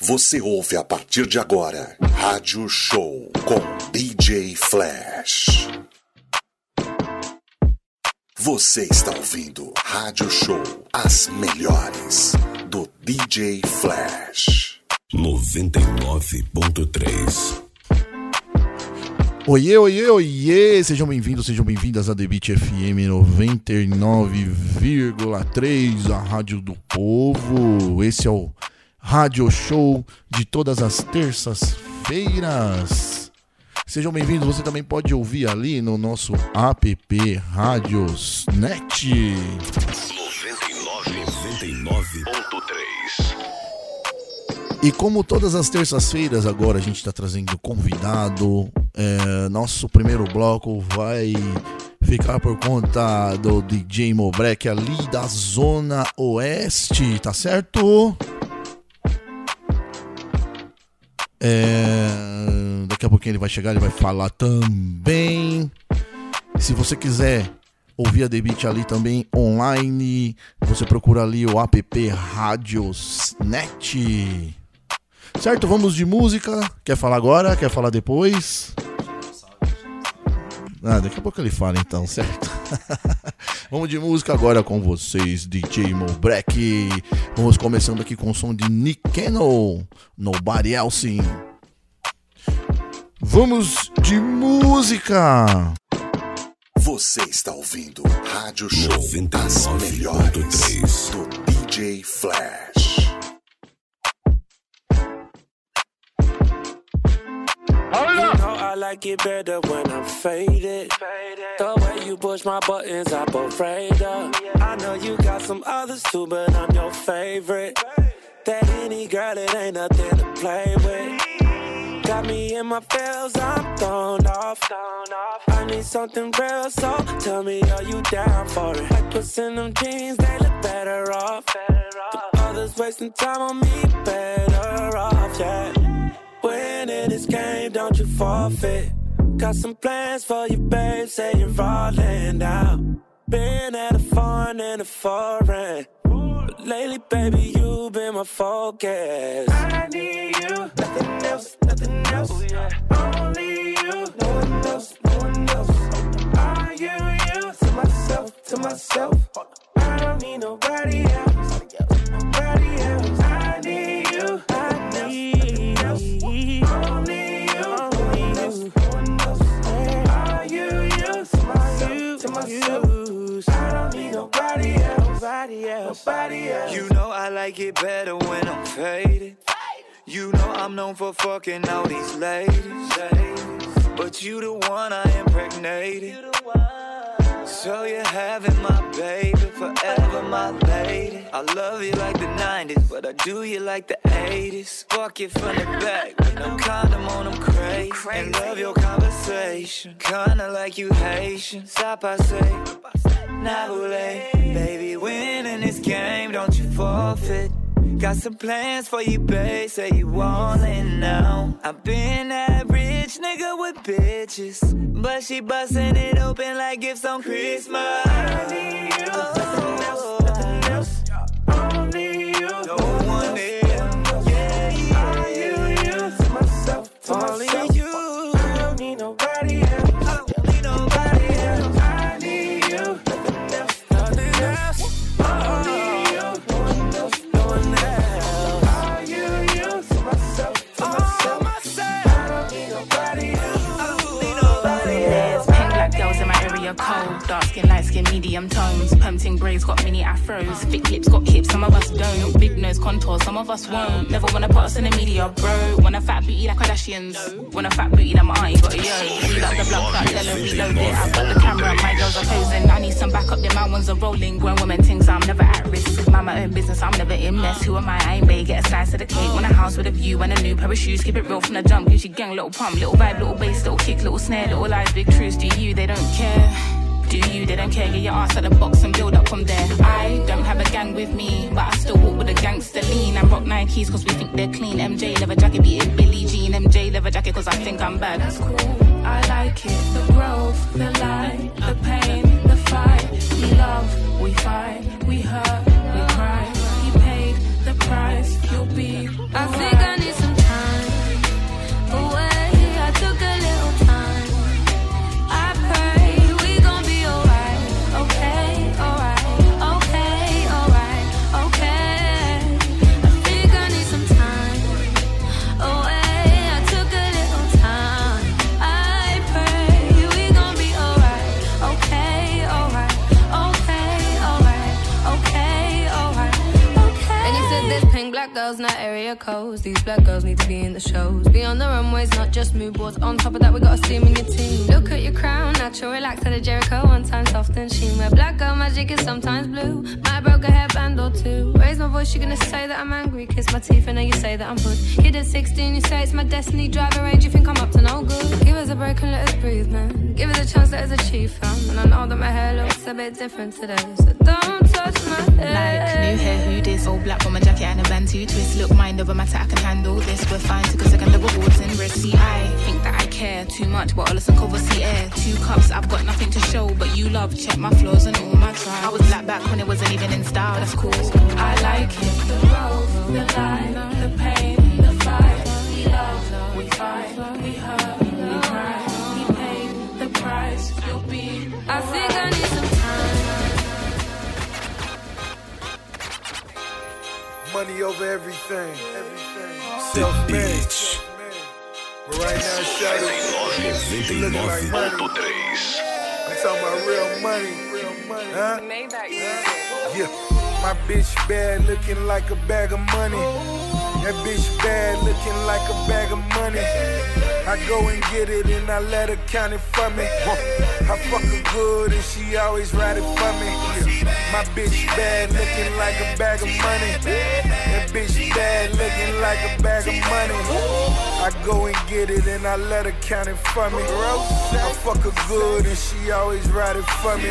Você ouve a partir de agora Rádio Show com DJ Flash. Você está ouvindo Rádio Show, as melhores do DJ Flash. 99.3. Oiê, oiê, oiê! Sejam bem-vindos, sejam bem-vindas a The Beat FM 99,3, a rádio do povo. Esse é o Rádio Show de todas as terças-feiras. Sejam bem-vindos, você também pode ouvir ali no nosso app Radiosnet. 99.3. E como todas as terças-feiras, agora a gente está trazendo convidado. Nosso primeiro bloco vai ficar por conta do DJ Mobrek ali da Zona Oeste, tá certo? Daqui a pouquinho ele vai chegar, ele vai falar também. Se você quiser ouvir a The Beat ali também online, você procura ali o app Radiosnet. Certo, vamos de música. Quer falar agora? Quer falar depois? Daqui a pouco ele fala então, certo? Vamos de música agora com vocês, DJ Mobrek. Vamos começando aqui com o som de Nick Cannon, Nobody Else. Vamos de música. Você está ouvindo Rádio Show, as melhores do DJ Flash. I like it better when I'm faded. The way you push my buttons, I'm afraid of. I know you got some others too, but I'm your favorite. That any girl, it ain't nothing to play with. Got me in my feels, I'm thrown off. I need something real, so tell me, are you down for it? Like puss in them jeans, they look better off. The others wasting time on me, better off, yeah. Winning this game, don't you forfeit. Got some plans for you, babe, say you're rolling down. Been at a foreign and a foreign, but lately, baby, you been my focus. I need you, nothing else, nothing else. Only you, no one else, no one else. Are you, to myself, I don't need nobody else, nobody else. I need you, I need you. Only you, no one else. Are you, to myself, I don't need nobody else, nobody else. You know I like it better when I'm faded. You know I'm known for fucking all these ladies, but you the one I impregnated. So you're having my baby, forever my lady. I love you like the 90s, but I do you like the 80s. Fuck you from the back, with no condom on, I'm crazy. And love your conversation, kinda like you Haitian. Stop, I say, Nabule. Baby, winning this game, don't you forfeit. Got some plans for you, babe, say you want it now. I've been that rich nigga with bitches, but she bustin' it open like gifts on Christmas. I need you, nothing else, nothing else. Only you, no one else. Yeah, are you, to myself, only you. I don't need nobody else, I don't need nobody else. I need you, nothing else, nothing else. Only you, no one else, no one else. Are you, to myself, I don't need nobody else, I don't need nobody else. Pink black girls in my area cold, dark skin, light skin, medium tones. Pumping braids got mini afros, thick lips got hips, some of us don't. Big nose contours, some of us won't. Never wanna put us in the media, bro. Want a fat booty like Kardashians, want a fat booty that my auntie got a yo. We like the block, like Della, reload it. I've got the camera, my girls are posing. I need some backup, then my ones are rolling. Grown women things, I'm never at risk. Mind my own business, I'm never in mess. Who am I ain't bae, get a slice of the cake. Want a house with a view and a new pair of shoes. Keep it real from the jump, Gucci gang, little pump, little vibe, little bass, little kick, little snare, little lies, big truths. Do you, they don't care. Do you, they don't care, get your ass out the box and build up from there. I don't have a gang with me, but I still walk with a gangster lean. And rock Nikes cause we think they're clean. MJ leather jacket beating Billie Jean. MJ leather jacket cause I think I'm bad. That's cool, I like it. The growth, the light, the pain, the fight. We love, we fight, we hurt, we cry. He paid the price, you'll be I think I need Jericho's. These black girls need to be in the shows. Be on the runways, not just mood boards. On top of that, we got a steam in your team. Look at your crown, natural, relax at a Jericho. One time soft and sheen. Where black girl magic is sometimes blue. Might broke a hairband or two. Raise my voice, you're gonna say that I'm angry. Kiss my teeth, and now you say that I'm good. Kid at 16, you say it's my destiny. Driving range, you think I'm up to no good. Give us a break and let us breathe, man. Give us a chance, let us achieve, fam. And I know that my hair looks a bit different today, so don't touch my head. Like, new hair, who this? All black on my jacket and a band, 2 twists. Look, mind over matter, I can handle this. We're fine, took a second, the rewards in risk. See, I think that I care too much, but all of some cover, see air. 2 cups, I've got nothing to show, but you love, check my flaws and all my tries. I was black back when it wasn't even in style, that's cool. I like it, the growth, the line, the pain, the fight. We love, we fight, we hurt, we cry, we pay the price. You'll be. I think I need some time. Money over everything. Self-made. But right now, shout it. She looking like money. I'm talking about real money. Huh? Yeah. My bitch bad, looking like a bag of money. That bitch bad, looking like a bag of money. I go and get it and I let her count it for me. I fuck her good and she always ride it for me. My bitch bad, looking like a bag of money. That bitch bad, looking like a bag of money. I go and get it and I let her count it for me. I fuck her good and she always ride it for me.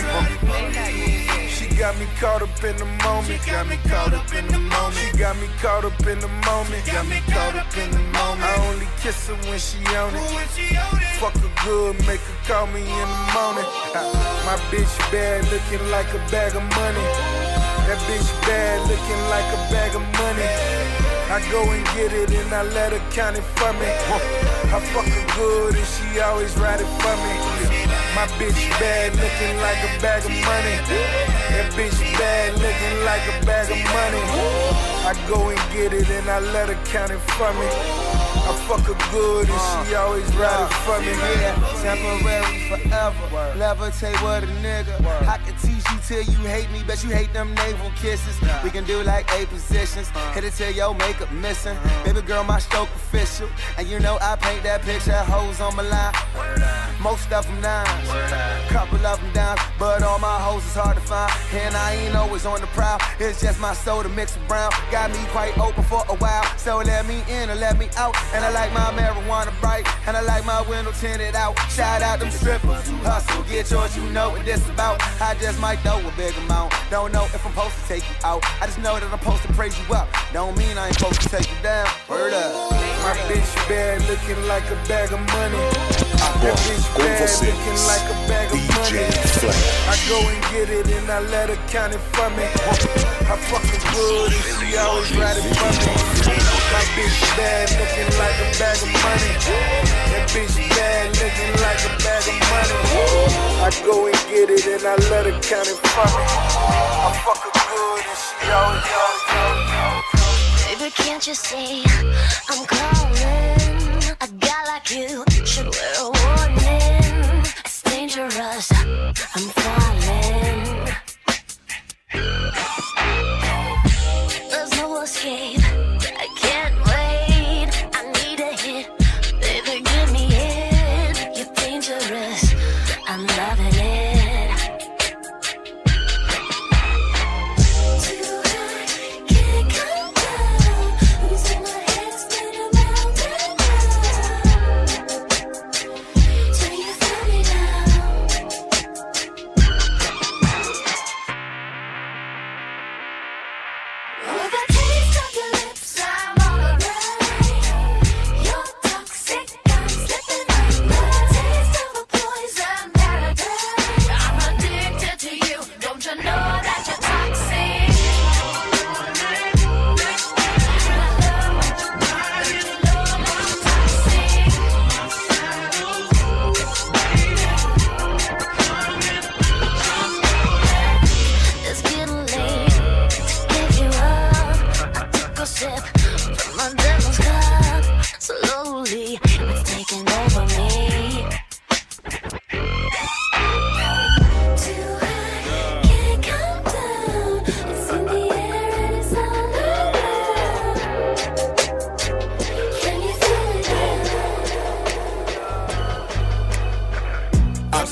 She got me caught up in the moment. Got me caught up in the moment. She got me caught up in the moment. Got me caught up in the moment. I only kiss her when she on it. Fuck her good, make her call me in the morning. My bitch bad, looking like a bag of money. That bitch bad, looking like a bag of money. I go and get it and I let her count it for me. I fuck her good and she always ride it for me. My bitch bad, looking like a bag of money. That bitch bad, looking like a bag of money. I go and get it and I let her count it for me. I fuck her good and she always ride it for me. Yeah, temporary forever. Levitate with a nigga. I can teach you till you hate me, bet you hate them naval kisses. We can do like 8 positions. Hit it till your makeup missing. Baby girl, my stroke official. And you know I paint that picture, hoes on my line. Most of them nines, couple of them downs, but all my hoes is hard to find. And I ain't always on the prowl. It's just my soda mixed with brown. Got me quite open for a while, so let me in or let me out. And I like my marijuana bright, and I like my window tinted out. Shout out them strippers who hustle, get yours, you know what this about. I just might throw a big amount. Don't know if I'm supposed to take you out. I just know that I'm supposed to praise you up. Don't mean I ain't supposed to take you down. Word up. My bitch bad, looking like a bag of money. That bitch bad, looking like a bag of money. I go and get it and I let her count it for me. I fuck her good and she always ride it for me. My bitch bad, looking like a bag of money. That bitch bad, looking like a bag of money. I go and get it and I let her count it for me. I fuck her good and she always Baby, can't you see I'm calling? A guy like you should wear a warning. It's dangerous, I'm falling. There's no escape, I can't wait. I need a hit, baby, give me it. You're dangerous, I'm loving it. Too high, can't come down. Losing my head, spinning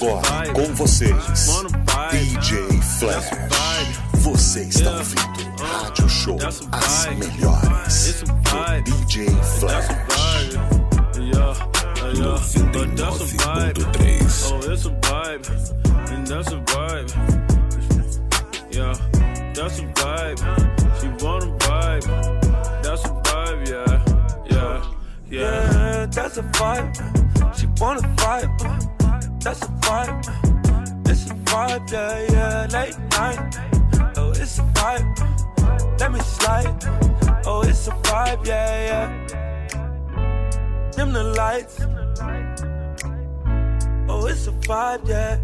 agora, com vocês, DJ Flash. Você está ouvindo Rádio Show As Melhores, do DJ Flash. 99.3. Oh, it's a vibe, and that's a vibe. Yeah, that's a vibe. She wanna vibe. That's a vibe, yeah. Yeah, that's a vibe. She wanna vibe. That's a vibe. It's a vibe, yeah. Late night. Oh, it's a vibe. Let me slide. Oh, it's a vibe, yeah. Dim the lights. Oh, it's a vibe, yeah.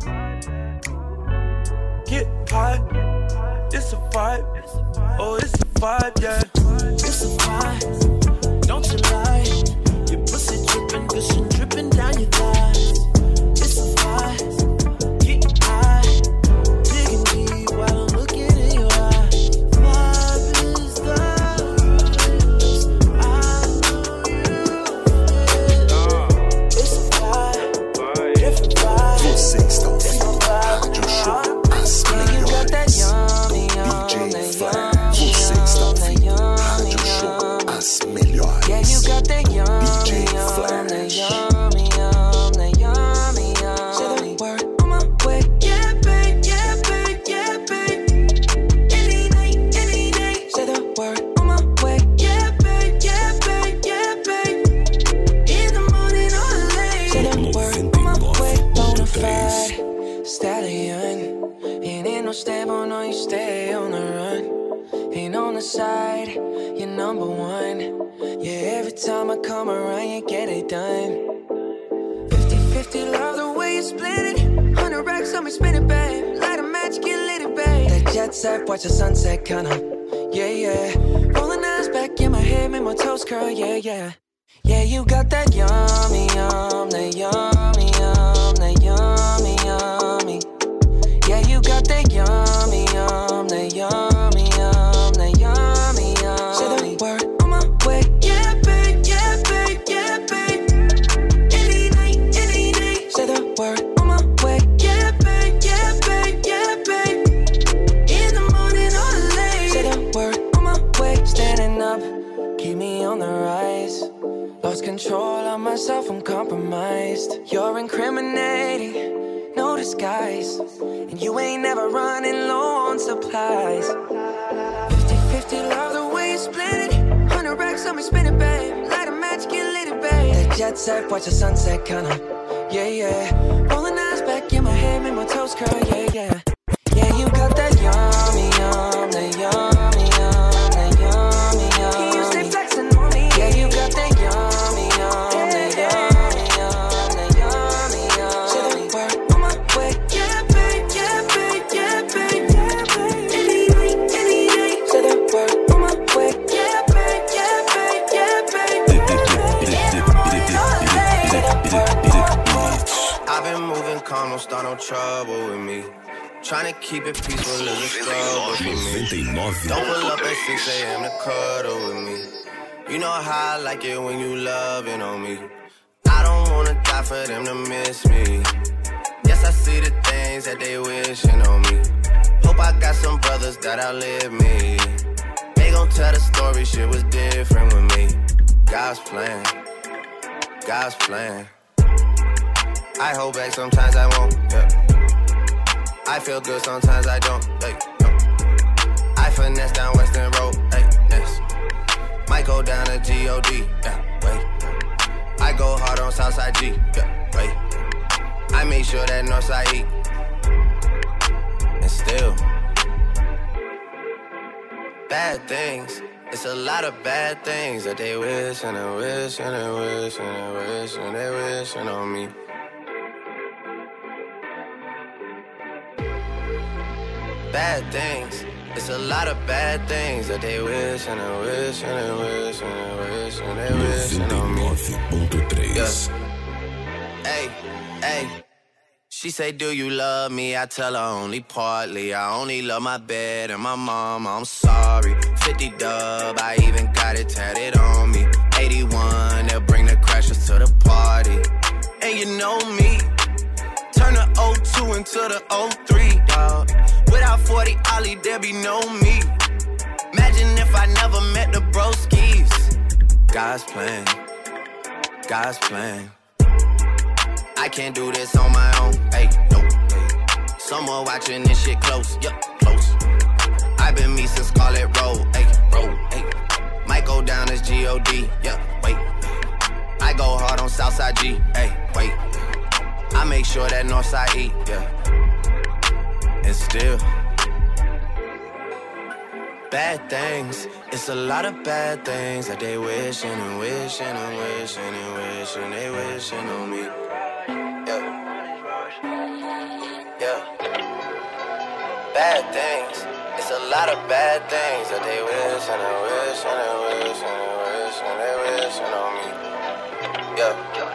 Get high. It's a vibe. Oh, it's a vibe, yeah. It's a vibe. Don't you lie. Your pussy dripping, cushion dripping down your thighs. It's a vibe. Get high. Digging deep while I'm looking in your eyes. Vibe is the rules. I know you feel. It's a vibe. Different vibe. Você está ouvindo Rádio Show As Melhores, DJ Flash. Você está ouvindo Rádio Show As Melhores, DJ Flash. Stable, no, you stay on the run. Ain't on the side, you're number one. Yeah, every time I come around, you get it done. 50-50, love the way you split it. 100 racks on me, spin it, babe. Light a match, get lit, babe. That jet set, watch the sunset, kinda. Yeah. Rolling eyes back in my head, make my toes curl, yeah. Yeah, you got that yummy, that yummy, that yummy, yummy. Yeah, you got that yummy, that yummy, that yummy, yummy. Say the word on my way, yeah, babe. Any night. Say the word on my way, yeah, babe. In the morning or late. Say the word on my way. Standing up, keep me on the rise. Lost control of myself, I'm compromised. You're incriminating. No disguise, and you ain't never running low on supplies. 50-50, love the way you split it. 100 racks on me, spin it, babe. Light a match, get lit, babe. That jet set, watch the sunset, kinda. Yeah. Rolling eyes back in my head, make my toes curl, yeah. Yeah, you got that yummy, that yummy, that yummy, yummy. Can you stay flexing on me? Yeah, you got that yummy, that yummy, that yummy, yummy. Say the word. I've been moving calm, don't start no trouble with me. Trying to keep it peaceful is a struggle for me. Don't pull up at 6 a.m. to cuddle with me. You know how I like it when you loving on me. I don't wanna die for them to miss me. Yes, I see the things that they wishing on me. Hope I got some brothers that outlive me. They gon' tell the story, shit was different with me. God's plan. I hold back, sometimes I won't, yeah. I feel good, sometimes I don't, hey, no. I finesse down Western Road, hey, next. Might go down to G.O.D., yeah, wait. I go hard on Southside G, yeah, wait. I make sure that Northside E. And still, bad things. It's a lot of bad things that they wish and they wish and they wish and they wish and they wishing on me. Bad things. It's a lot of bad things that they wish and they wish and they wish and they wish and they wishing on me. 99.3. Yeah. Hey. She say, do you love me? I tell her only partly. I only love my bed and my mama, I'm sorry. 50 dub, I even got it tatted on me. 81, they'll bring the crashers to the party. And you know me, turn the cruising to the 03, dog. Without 40 Ollie, there be no me. Imagine if I never met the broskies. God's plan, God's plan. I can't do this on my own, hey, no, hey. Someone watching this shit close, yup, close. I've been me since Scarlet Road, hey, road, hey. Might go down as G-O-D, yeah, wait. I go hard on Southside G, hey, wait. I make sure that Northside eat, yeah. And still bad things, it's a lot of bad things that they wishing and wishing and wishing and wishing, they wishing on me. Yeah, yeah. Bad things, it's a lot of bad things that they wishing and wishing and wishing and wishing, they wishing on me. Yeah.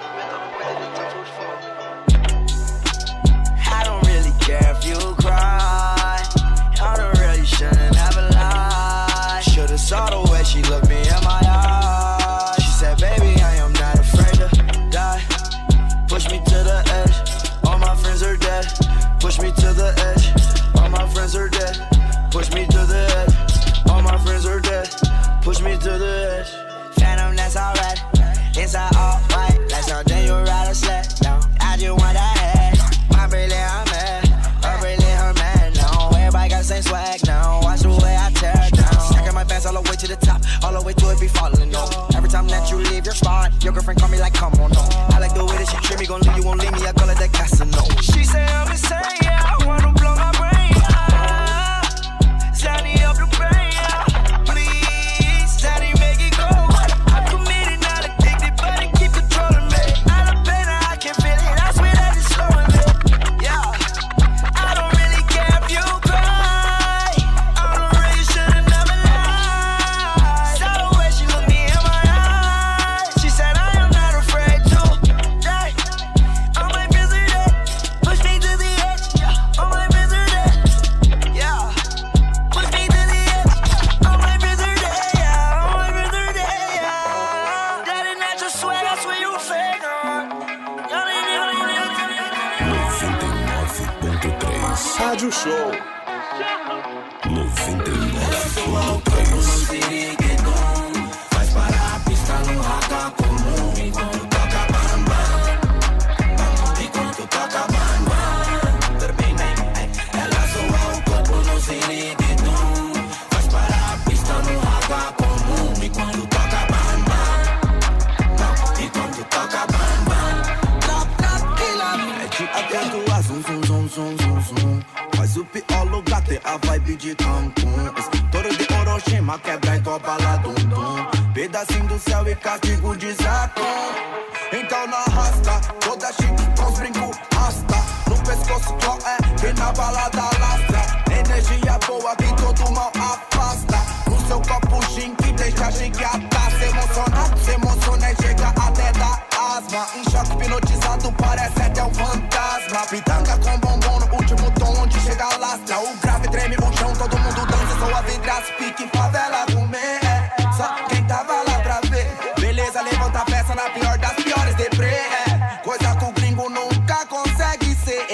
I don't really care if you cry. I don't really shouldn't have a lie. Should've saw the way she looked me in my eyes. She said, baby, I am not afraid to die. Push me to the edge, all my friends are dead. Push me to the edge, all my friends are dead. Push me to the edge, all my friends are dead. Push me to the edge. Phantom, that's alright. Inside all white, like something you ride a sled. No, I just want that head. My brilliant, I'm mad. Her brilliant, her man. No, everybody got the same swag now. Watch the way I tear it down. Stacking my bands all the way to the top, all the way to it be falling on. Every time that you leave your spot, your girlfriend call me like, come on, no. I like the way that she treat me, gon' leave you, won't leave me. I call it that Casino. She say I'm insane, yeah. I wanna blow my brain, yeah. Sandy up the brain, yeah. Please, Sandy, make it go. I'm committed, not addicted, but it keep controlling me. Out of pain, I can feel it. I swear that it's slowing me. Yeah, I don't really care if you cry. I don't really should've never lied. Saw the way she looked me in my eyes. She said I am not afraid to die. All my friends are dead. Push me to the edge. All my friends are dead. Yeah, push me to the edge. All my friends are dead. Yeah, all my friends are dead. Yeah, that is not your swag. I swear you fake. 99.3 Rádio Show. 99.3 Faz parar a pista no raca comum. Enquanto toca bam bam. Enquanto toca bam bam. Termina, ela soa o corpo no ziriguidum. Faz parar a pista no raca comum. Enquanto toca bam bam. Enquanto toca bam bam. Trap, trap, killer. Mete atento a zum, zum, zum, zum, zum, zum. Faz o pior lugar, tem a vibe de Cancún. Estouro de Orochima, quebra e topa lá, dum, dum. Pedacinho do céu e castigo de Zacon. Então na rasta, toda chique com os brincos rasta. No pescoço qual é, que na balada lastra. Energia boa que todo mal afasta. No seu copo gin que deixa chiquiata. Se emociona e chega até dar asma. Em choque hipnotizado, parece até um fantasma. Pitanga com bombom no último tom onde chega a lastra. O grave treme o chão, todo mundo dança. Sou a vidraça, pique em favela comer. Só quem tava lá pra ver. Beleza, levanta a peça na pior das piores deprê. Coisa que o gringo nunca consegue ser.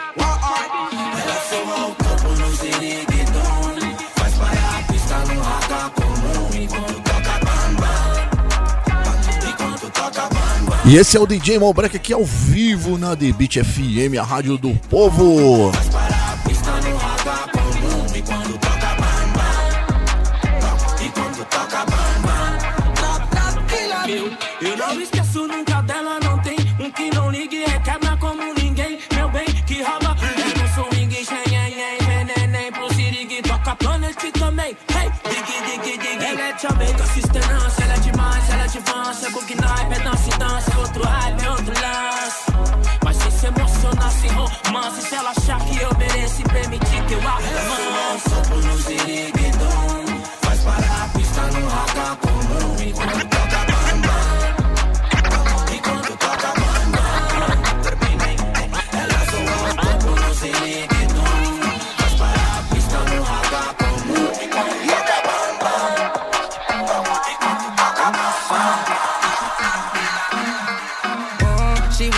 Ela soa o corpo no ziriguidum. Faz parar a pista no raca comum. Enquanto toca bam bam. Enquanto toca bam bam. E esse é o DJ Malbreak aqui ao vivo na The Beat FM, a rádio do povo. Faz parar a pista no raca comum. Enquanto toca bam bam. Enquanto toca bam bam. Trap, trap, killer. Eu não esqueço nunca dela, não tem um que não ligue, requebra como ninguém, meu bem, que rouba. Eu não sou ninguém, nem pro Sirig, toca Planet também, hey, dig. Ela é Jamaica, sustenância, ela é demais, ela é de avança, é book night, é dança e dança, é outro hype, é outro lance. Mas se se emocionar, se romance, se ela achar que eu mereço e permitir que eu avance. Ela soa o corpo no ziriguidum. Faz parar a pista no raca comum. Enquanto toca bam bam. Enquanto toca bam bam. Termina, ela soa o corpo no ziriguidum. Faz parar a pista no raca comum. Enquanto toca bam bam. Enquanto toca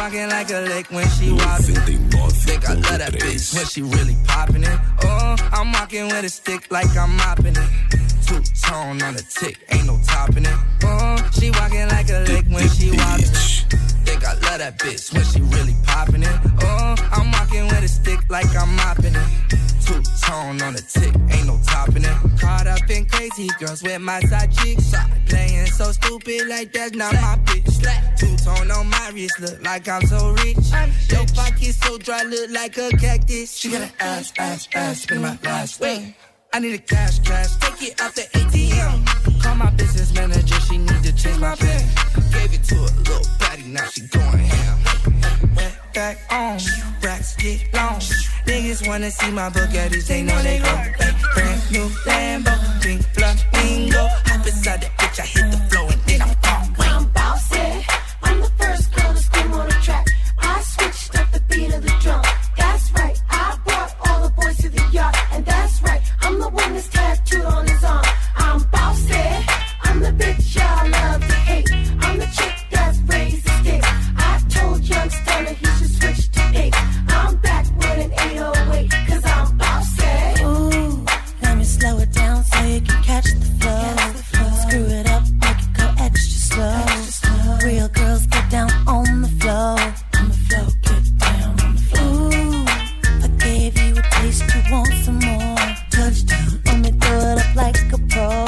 walking like a lick when she wobbin'. Think I love that bitch when she really poppin' it. Oh, I'm walking with a stick like I'm mopping it. Two-tone on the tick, ain't no topping it. Oh, she walking like a lick when she wobbin'. Think I love that bitch when she really poppin' it. Oh, I'm walking with a stick like I'm mopping it. Two-tone on the tick, ain't no topping it. Caught up in crazy girls with my side chicks. Playing so stupid like that's not my bitch. Two-tone on my wrist, look like I'm so rich. Your pocket so dry, look like a cactus. She got an ass, spin my last way. I need a cash, take it out the ATM. Call my business manager, she need to change my pen. Gave it to a little baddie, now she going ham. Went back on, racks get long. Niggas wanna see my Bugattis, they know they go. Brand new Lambo, pink flamingo. Hop inside that bitch, I hit the floor and then I'm gone. I'm bossy, I'm the first girl to scream on the track. I switched up the beat of the drum. That's right, I brought all the boys to the yard. And that's right, I'm the one that's tattooed on his arm. I'm bossy, I'm the bitch y'all love to hate. I'm the chick that's raised the stakes. I told young Stunner he should switch to 8. I'm back with an 808, cause I'm bossy. Ooh, let me slow it down so you can catch the flow. Screw it up, make it go extra slow. Real girls get down on the floor. On the floor, get down on the floor. Ooh, I gave you a taste, you want some more. Touchdown, let me throw it up like a pro.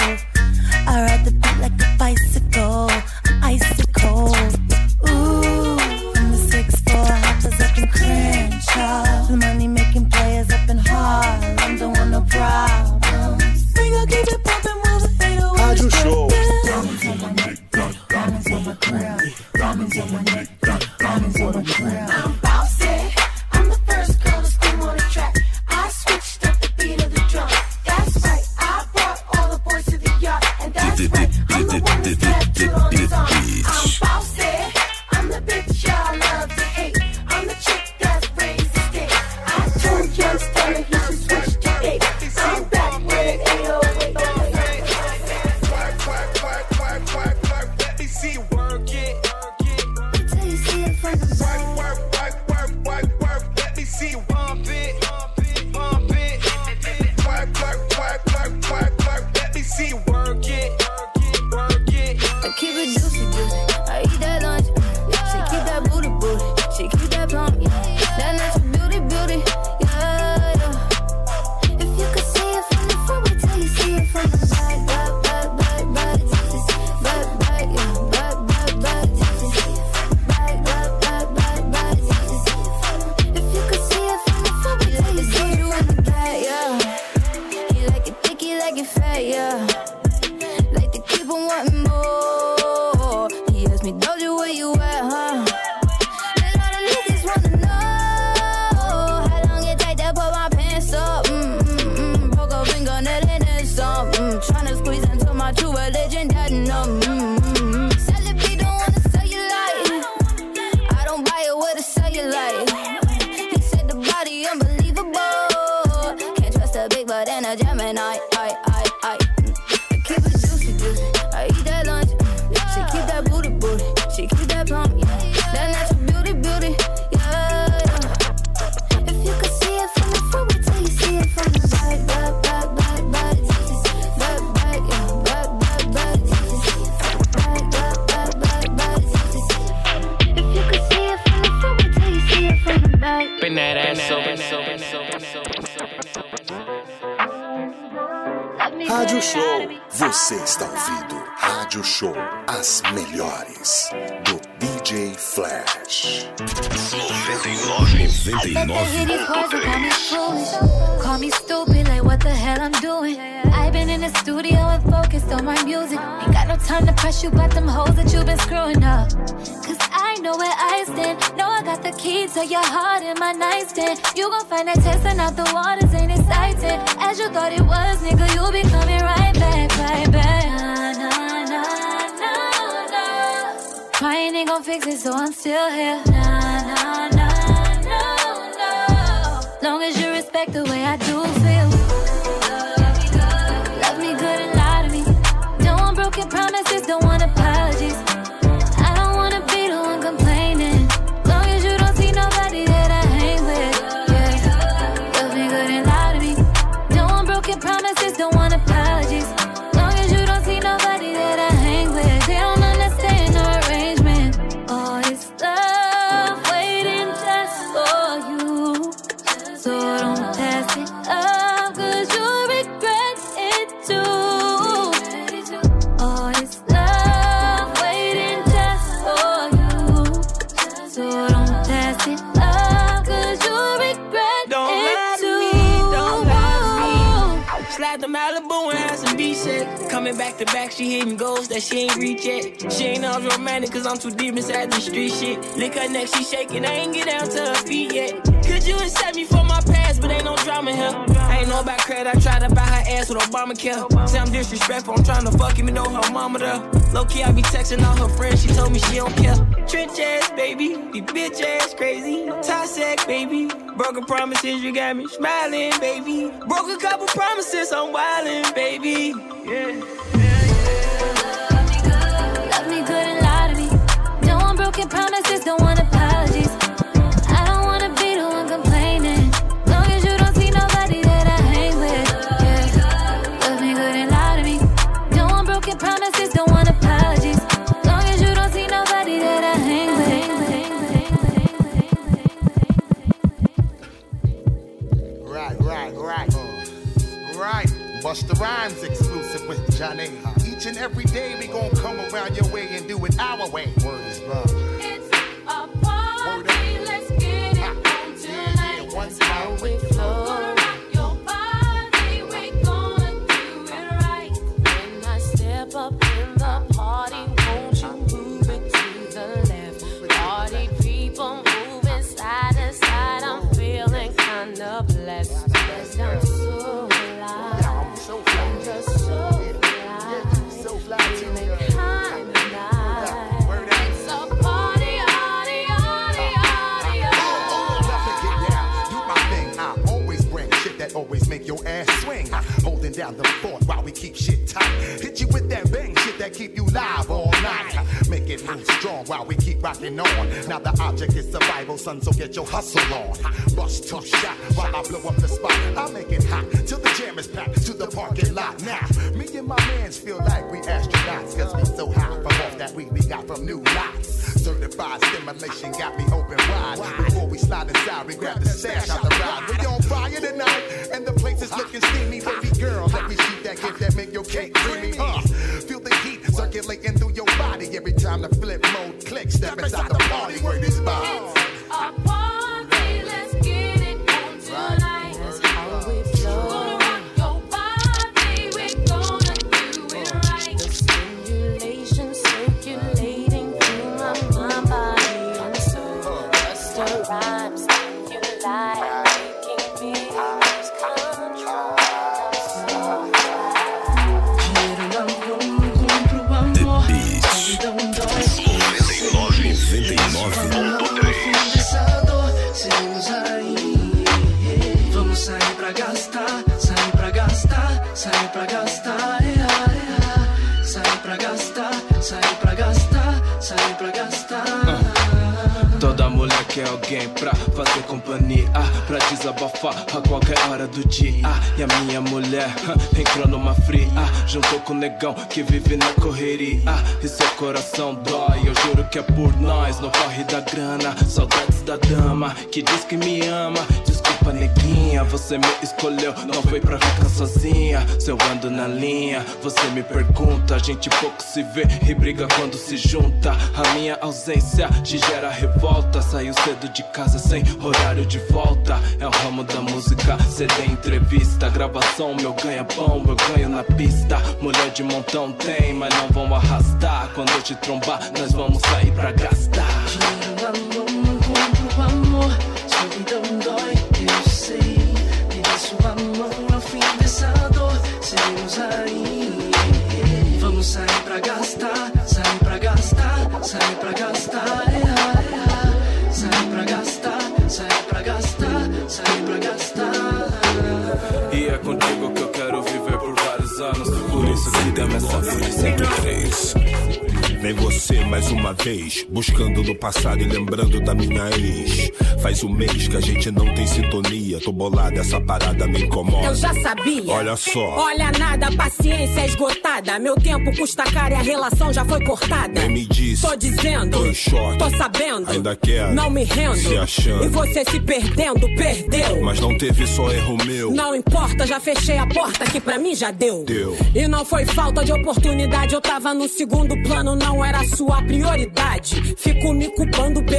I ride the beat like a bicycle. I'm icy cold. Ooh, I'm the 6'4" hoppers up in Crenshaw. The money making players up in Harlem. Don't want no problems. We gon' keep it poppin' while the fade away. Rádio Show. Diamonds on my neck, diamonds on my crown. Diamonds on my neck, diamonds on my crown. I'm bossy, I'm the first girl to scream on the track. I switched up the beat of the drum. That's right, I brought all the boys to the yard. And that's right, I'm the one that's tattooed on his arm. I'm bossy, I'm the bitch y'all love to hate. I'm the chick that's raised the state. I told young Stunner he should switch to 8. I'm back with an 808. Let me see you work it. Till you see it from the back. Work. Let me see you bump it. Bump it. Work. Let me see you work it. Work it. I keep it juicy, I eat that lunch. She keep that booty, she keep that plump. That natural beauty, yeah. If you could see it from the front, wait till you see it from the back. If you could see it from the front, wait till you see it from the back. You like it thick, you like it fat, yeah. Like to keep on wanting more. He asked me, Doja, where you at, huh? And all the niggas wanna know how long it take to put my pants up. Broke a fingernail and then some. Tryna squeeze into my true religion, that Celebrity don't wanna sell you light. I don't buy it with a cellulite. He said the body unbelievable. Can't trust a big butt and a Gemini. I keep it juicy, I eat that lunch. She keep that booty, she keep that plump. That natural beauty, yeah. If you could see it from the front, wait till you see it from the back. If you could see it from the front, wait till you see it from the back. Been that ass over. Rádio Show. Você está ouvindo Rádio Show. As melhores do DJ Flash. 99.3. Call me stupid, like what the hell I'm doing. I've been in the studio and focused on my music. Ain't got no time to press you about them hoes that you've been screwing up. Cause I know where I stand. Know I got the key to your heart in my nightstand. You gon' find that testing out the waters ain't exciting. As you thought it was, nigga, you'll be coming right back, right back. Nah. Crying ain't gon' fix it, so I'm still here. Nah. Long as you respect the way I do feel. Love me good and lie to me. Don't want broken promises, don't want apologies. I don't wanna be the one complaining. Long as the Malibu and had some beach sex. Coming back to back, she hitting goals that she ain't reach yet. She ain't all romantic cause I'm too deep inside the street shit. Lick her neck, she shaking, I ain't get down to her feet yet. Could you accept me for my past, but ain't no drama here. I ain't know about credit, I tried to buy her ass with Obamacare. Say I'm disrespectful, I'm trying to fuck him, know her mama there. Low key, I be texting all her friends, she told me she don't care. Trench ass, baby, the bitch ass crazy. Toxic, baby, broken promises, you got me smiling, baby. Broke a couple promises, I'm wildin', baby. Yeah. Love me good and lie to me. Don't want broken promises, don't want apologies. I don't wanna be the one complaining. Long as you don't see nobody that I hang with. Yeah. Love me good and lie to me. Don't want broken promises, don't want apologies. Long as you don't see nobody that I hang with. Right. Busta Rhymes exclusive with Johnny. Each and every day we gon' come around your way and do it our way. Word is love. It's a party, let's get it on tonight. That's how we flow. Gonna rock your body, we gonna do it right. When I step up in the party, won't you move it to the left? Party people moving side to side, I'm feeling kinda blessed. Yes, I'm so alive. I'm just so fly. So fly feeling kinda nice. It's a party, party, party, party, Do my thing, I always bring shit that always make your ass swing. Holding down the fort while we keep shit tight. Hit you with that bang shit that keep you live all night. Make it move strong while we keep rocking on. Now the object is survival, son, so get your hustle on. Bust tough shot while I blow up the spot. I make it hot till the jam is packed to the parking lot. Now, me and my mans feel like we astronauts, cause we so high from off that weed we got from new lots. Certified stimulation got me open wide. Before we slide inside, we grab the stash out the ride. We on fire tonight, and the place is looking steamy. Baby girl, let me shoot that gift that make your cake creamy. Feel the heat circulating through your body every time the flip mode clicks. Step inside the party where this bomb. a party, let's get it on tonight. That's how we flow. Gonna rock your body, we gonna do it right. The stimulation circulating through my body and soul. Busta Rhymes, stimuli, making me lose control. Vamos sair pra gastar, sair pra gastar, sair pra gastar, sair pra gastar, sair pra gastar, sair pra gastar. Toda mulher quer alguém pra fazer companhia, pra desabafar a qualquer hora do dia. E a minha mulher entrou numa fria, juntou com o negão que vive na correria. E seu coração dói, eu juro que é por nós. No corre da grana, saudades da dama que diz que me ama. Desculpa, neguinha, você me escolheu, não foi pra ficar sozinha. Se eu ando na linha, você me pergunta. A gente pouco se vê e briga quando se junta. A minha ausência te gera revolta. Saiu cedo de casa sem horário de volta. É o ramo da música, CD, entrevista, gravação, meu ganha-pão, eu ganho na pista. Mulher de montão tem, mas não vão arrastar. Quando eu te trombar, nós vamos sair pra gastar. Dinheiro, amor, não compro amor. Solidão dói, eu sei. Me dê sua mão ao fim dessa dor. Seremos aí. Vamos sair pra gastar, sair pra gastar, sair pra gastar. Sair pra gastar, sair pra gastar, sair pra gastar. E é contigo que eu quero viver por vários anos. Por isso que dá essa vida 103. Vem você mais uma vez, buscando no passado e lembrando da minha ex. Faz um mês que a gente não tem sintonia. Tô bolada, essa parada me incomoda. Eu já sabia. Olha só. Olha nada, paciência esgotada. Meu tempo custa caro e a relação já foi cortada. Nem me disse. Tô dizendo. Tô em choque. Tô sabendo. Ainda quero. Não me rendo. Se achando. E você se perdendo, perdeu. Mas não teve só erro meu. Não importa, já fechei a porta que pra mim já deu. E não foi falta de oportunidade. Eu tava no segundo plano, não era sua prioridade. Fico me culpando pelo que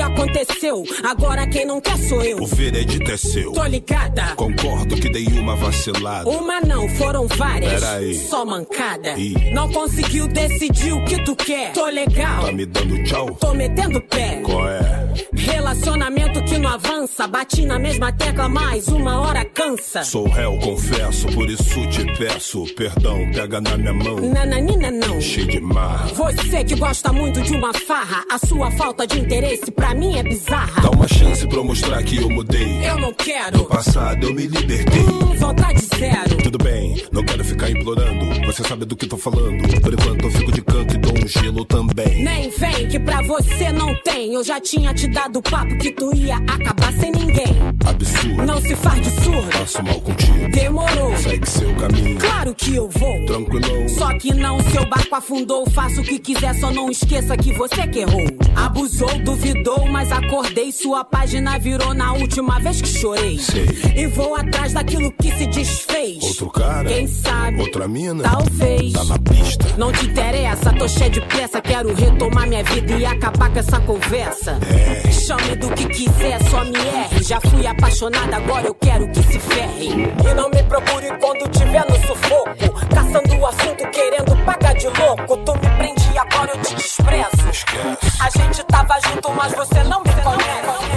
aconteceu. Agora quem não quer sou eu. O veredito é seu. Tô ligada. Concordo que dei uma vacilada. Uma não, foram várias. Peraí. Só mancada. Ih. Não conseguiu decidir o que tu quer. Tô legal. Tá me dando tchau? Tô metendo pé. Qual é? Relacionamento que não avança. Bati na mesma tecla, mas uma hora cansa. Sou réu, confesso, por isso te peço perdão, pega na minha mão. Nananina não. Cheio de marra. Você que gosta muito de uma farra, a sua falta de interesse pra mim é bizarra. Dá uma chance pra eu mostrar que eu mudei. Eu não quero. No passado eu me libertei. Vontade zero. Tudo bem, não quero ficar implorando. Você sabe do que tô falando. Por enquanto eu fico de canto e dou um gelo também. Nem vem que pra você não tem. Eu já tinha te dado papo que tu ia acabar sem ninguém. Absurdo. Não se faz de surdo. Passo mal contigo. Demorou. Segue seu caminho. Claro que eu vou. Tranquilão. Só que não, seu barco afundou. Faça o que quiser, só não esqueça que você que errou. Abusou, duvidou, mas acordei. Sua página virou na última vez que chorei. Sei. E vou atrás daquilo que se desfez. Outro cara? Quem sabe? Outra mina? Talvez. Tá na pista. Não te interessa, tô cheio de pressa. Quero retomar minha vida e acabar com essa conversa. É. Chame do que quiser, só me erre. Já fui apaixonada, agora eu quero que se ferre. E não me procure quando tiver no sufoco. Caçando o assunto, querendo pagar de louco. Tu me prende e agora eu te desprezo. Esquece. A gente tava junto, mas você não me conhece.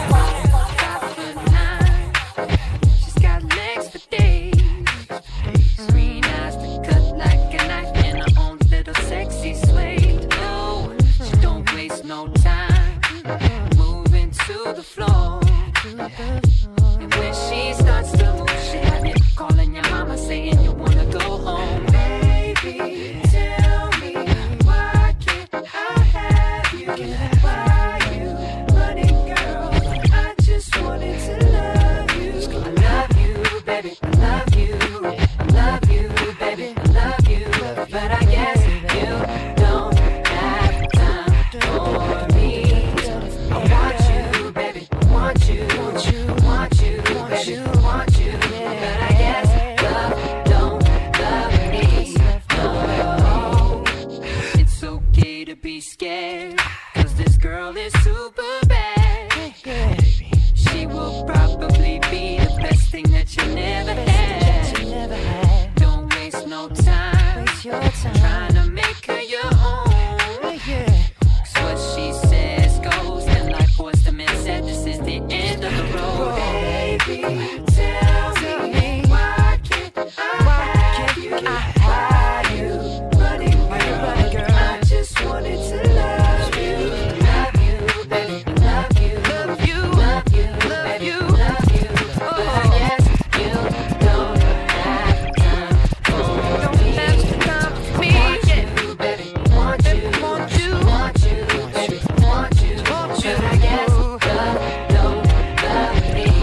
No time, moving to the floor. And when she starts to move, she had me calling your mama saying you wanna go home. Baby, tell me, why can't I have you? Why you running, girl? I just wanted to love you. I love you, baby, I love you. I love you, baby, I love you. But I guess you don't have time for me. I want you, baby, I want you, want you, want you, want you, want you. But I guess love don't love me. No, it's okay to be scared, 'cause this girl is super bad. She will probably be the best thing that you never had. Don't waste no time, trying to make her your own. 'Cause what she says goes, and like Boyz II Men said, this is the end of the road. Baby, tell me, why can't I have you? Why you running, girl? I just wanted to love you. Love you, baby, love you. Love you, love you, baby, love you. But I guess you don't have time for me. Want you, baby, want you, want you, want you, baby, want you. But I guess love don't love me.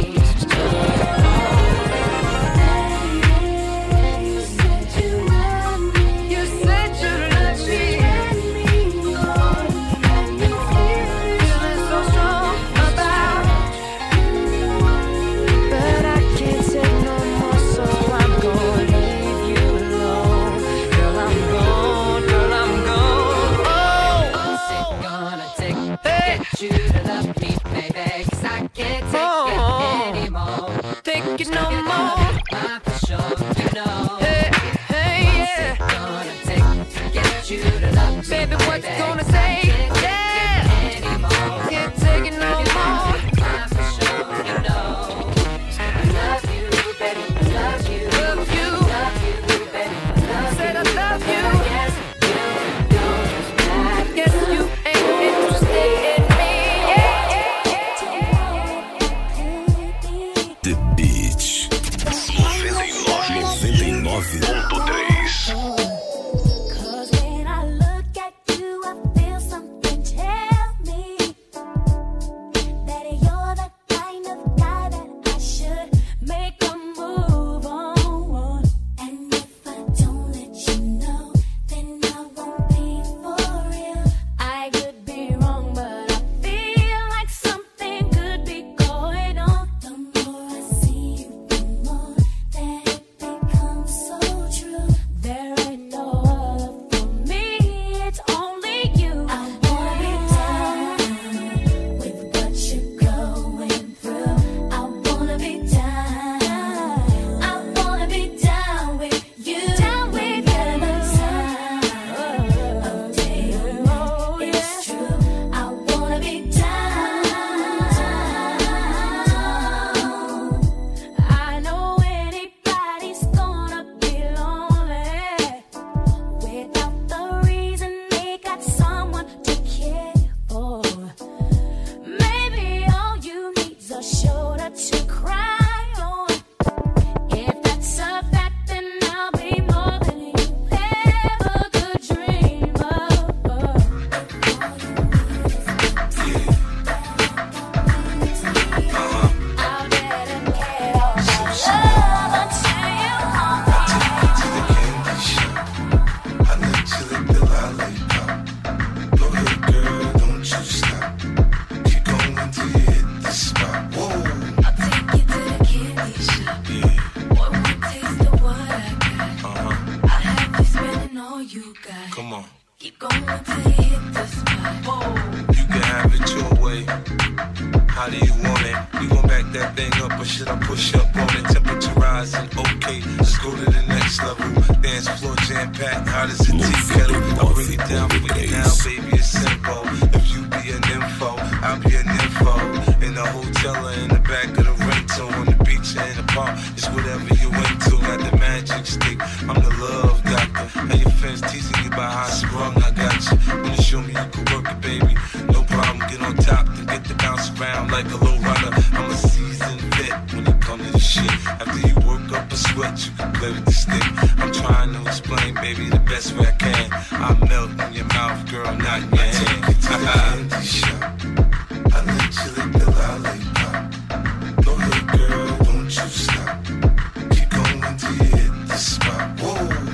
You said you love me. You said you love me. And you feeling so strong about you. But I can't take no more, so I'm gonna leave you alone. Girl, I'm gone, girl, I'm gone. Oh, what's it gonna take to get you to love me, baby? 'Cause I can't take it anymore. Take it no more. I'm for sure, you know. Hey, hey, yeah. What's it gonna take to get you to love me, baby? What's it gonna take? Yeah. Can't take it no more. I'm for sure, you know. I love you, baby. I love you. Love you. Love you, baby. I love said I love you. Yes, you don't. Guess you ain't interested in me. Yeah. The Beach. everything up, or should I push up on the temperature rising? Okay, let's go to the next level. Dance floor jam packed, hot as a tea kettle. I'll bring it down for you now, baby, it's simple. If you be an info, I'll be an info. In the hotel or in the back of the rental, on the beach or in the park, it's whatever you into. Got the magic stick, I'm the love doctor. Now your fans teasing you about how I sprung, I got you. When you show me you can work it, baby, no problem. Get on top and get to bounce around like a low rider. I'm a seasoned vet when it comes to this shit. After you work up a sweat, you can play with the stick. I'm trying to explain, baby, the best way I can. I melt in your mouth, girl, not in your hand. Take it to the candy shop. I let you lick the lollipop. Go ahead, girl, don't you stop. Keep going till you hit the spot. Whoa.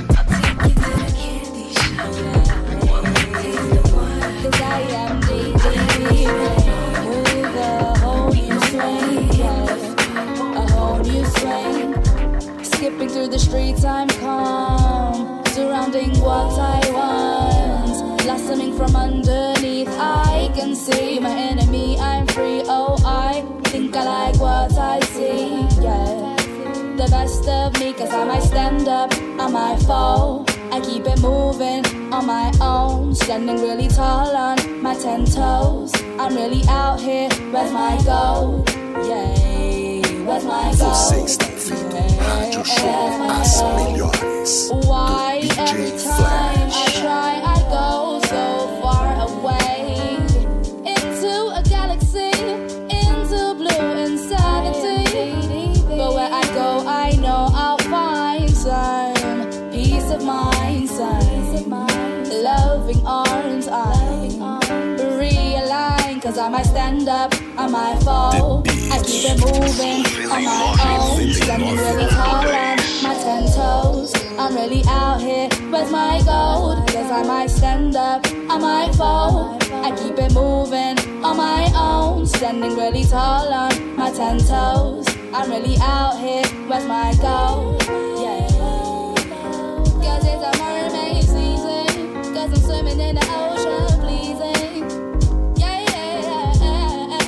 Skipping through the streets, I'm calm, surrounding what I want, blossoming from underneath. I can see my enemy, I'm free. Oh, I think I like what I see, yeah. The best of me, cause I might stand up, I might fall. I keep it moving on my own, standing really tall on my 10 toes. I'm really out here, where's my goal? Yay, where's my goal? Você está ouvindo Rádio Show As Melhores. Why every time I try I go so far away into a galaxy, into blue insanity. But where I go I know I'll find some peace of mind, some loving arms. I realign, cause I might stand up, I might fall. I keep it moving on my own, standing really tall on my 10 toes. I'm really out here, where's my gold? Cause I might stand up, I might fall. I keep it moving on my own, standing really tall on my 10 toes. I'm really out here, where's my gold? Yeah. Cause it's a mermaid season, cause I'm swimming in the ocean, pleasing. Yeah, yeah, yeah.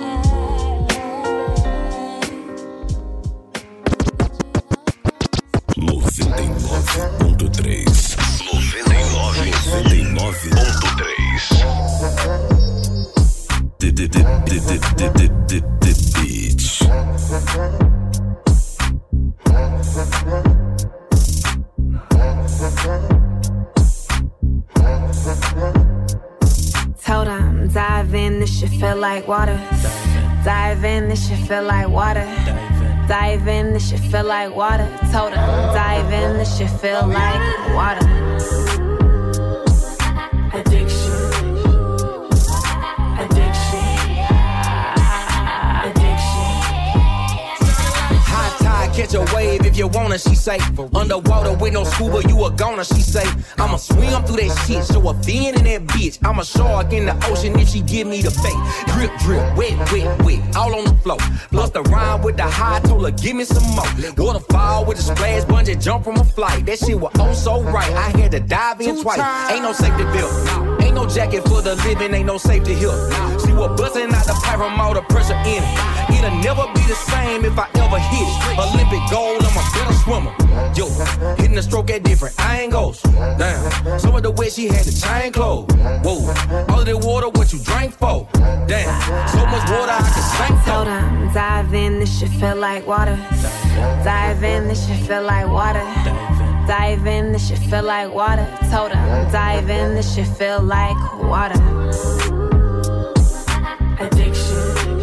99.3 Told 'em, dive in, this shit feel like water. Dive in, this shit feel like water. Dive in, this shit feel like water. Told 'em, dive in, this shit feel like water. Addiction. Catch a wave if you wanna, she say. Underwater with no scuba, you a goner, she say. I'ma swim through that shit, show a fin in that bitch. I'm a shark in the ocean if she give me the bait. Drip, drip, wet, wet, wet, all on the floor. Plus the rhyme with the high, told her give me some more. Waterfall with a splash, bungee jump from a flight. That shit was oh so right, I had to dive in twice. Ain't no safety belt, ain't no jacket for the living, ain't no safety here. She was busting out the pipe from all the pressure in it. It'll never be the same if I ever hit it. Olympic gold, I'm a better swimmer. Yo, hitting the stroke at different angles. Damn, some of the way she had the chain closed. Whoa, all of the water, what you drank for? Damn, so much water I can sink for. Told 'em, dive in, this shit feel like water. Dive in, this shit feel like water. Dive in, this shit feel like water. Told 'em, dive in, this shit feel like water. Addiction.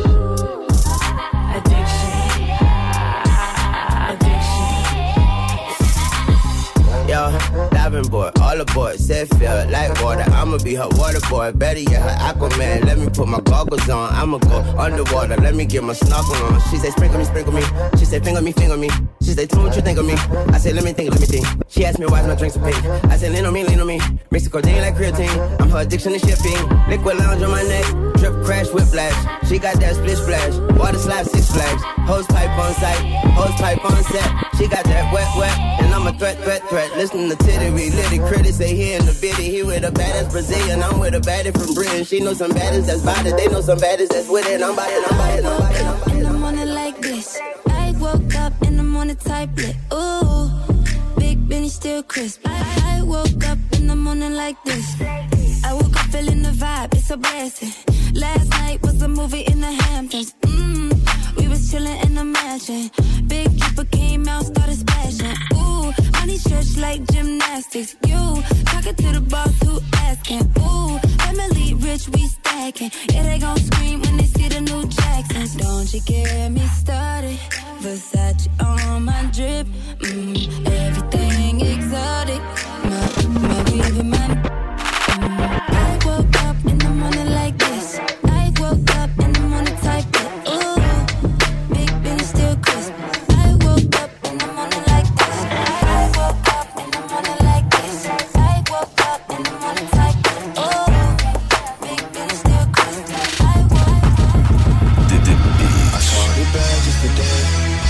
Yo, diving board, all aboard, said feel like water. I'ma be her water boy, better yet her Aquaman. Let me put my goggles on, I'ma go underwater. Let me get my snorkel on. She say sprinkle me, sprinkle me. She say finger me, finger me. She say tell me what you think of me. I say let me think, let me think. She asked me why my drinks so pink. I say lean on me, lean on me. Mix the codeine like creatine. I'm her addiction to shipping. Liquid lounge on my neck, drip crash whiplash. She got that split splash, water slide 6 flags. Hose pipe on sight, hose pipe on set. She got that wet, and I'm a threat. Listen to Tittery, litty critics say he in the bitty. He with a badass Brazilian, I'm with a baddie from Britain. She know some baddies that's body, they know some baddies that's with it. I'm biting. In the morning like this, I woke up in the morning type lit. Ooh, Big Benny still crisp. I woke up in the morning like this. I woke up feeling the vibe, it's a blessing. Last night was a movie in the Hamptons. We was chillin' in the mansion. Big Keeper came out, started splashing. Ooh, money stretch like gymnastics. You talking to the boss who asking. Ooh, family rich, we stacking. Yeah, they gon' scream when they see the new Jacksons. Don't you get me started? Versace on my drip. Everything exotic. My weave and my I woke up in the morning like this. I woke up in the morning type it. Ooh, Big Benny still crisp. I woke up in the morning like this. I woke up in the morning like this. I woke up in the morning type it. Ooh, Big Benny still crisp. I woke up. I saw the bag just today.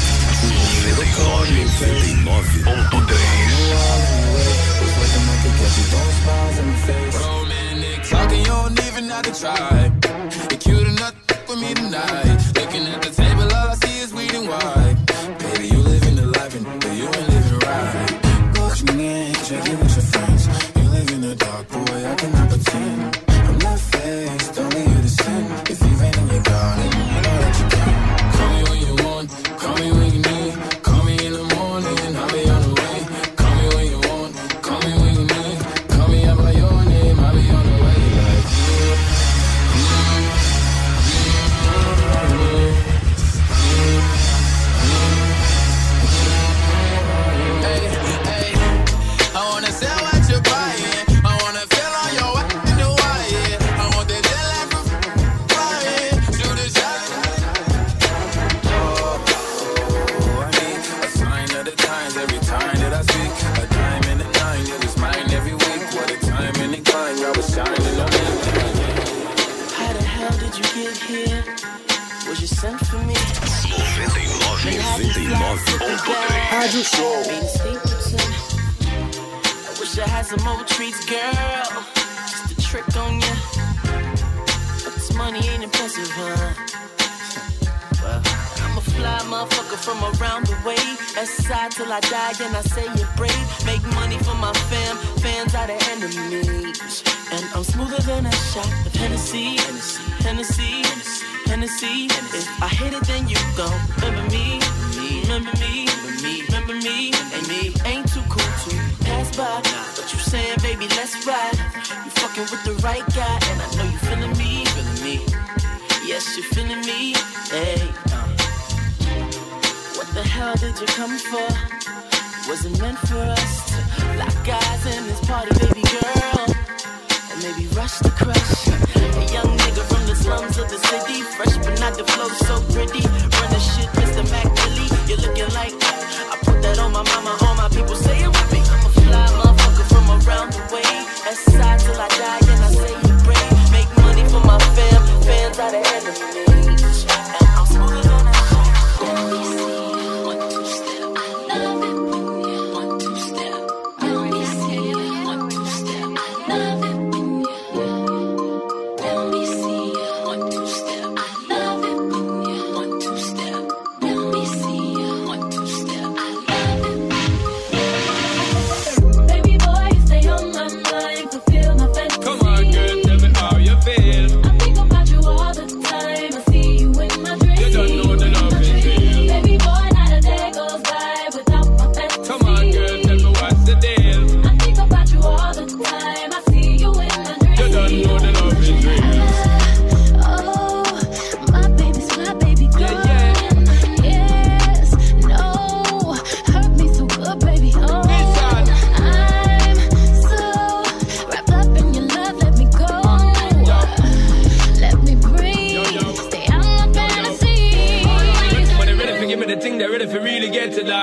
99.9. Talking, you don't even have to try. You're cute enough with me tonight. Looking at the table, all I see is weed and wine. Baby, you living the life, and you ain't living right. Watching in, check it with your friends. You live in the dark, boy, I cannot pretend. I'm not faced, only you to sin. If you ain't in your garden, you know that you can. Call me when you want, call me when you need. Call me in the morning, I'll be on the way. Call me when you want, call me when you need. Call me out by your name, I'll be on the way. Like I wanna sell what you're buying. I wanna feel on your way in the wire. I want that jet lag from flying. Shoot a shot. I need a sign of the times every time that I speak. A dime and a nine, it was mine every week. What a time and a climb, I was shining on me. How the hell did you get here? Was you sent for me? 99.9. Rádio Show. I wish I had some more treats, girl. Just a trick on ya. But this money ain't impressive, huh? Well, I'm a fly motherfucker from around the way. S-side till I die, and I say you're brave. Make money for my fans are the enemies. And I'm smoother than a shot of Hennessy. If I hit it, then you gon' remember me. And me ain't too cool to pass by. But you saying, baby, let's ride. You fucking with the right guy, and I know you feeling me. Yes, you feeling me. Hey, what the hell did you come for? Was it meant for us to lock eyes in this party, baby girl? Or maybe rush the crush? A young nigga from the slums of the city, fresh but not the flow so pretty. Run the shit, Mr. Mac Billy. You're looking like I put that on my mama, all my people say it with me. I'm a fly motherfucker from around the way. S-side till I die, and I say you brave. Make money for my fans are the enemies. And I'm smoother than a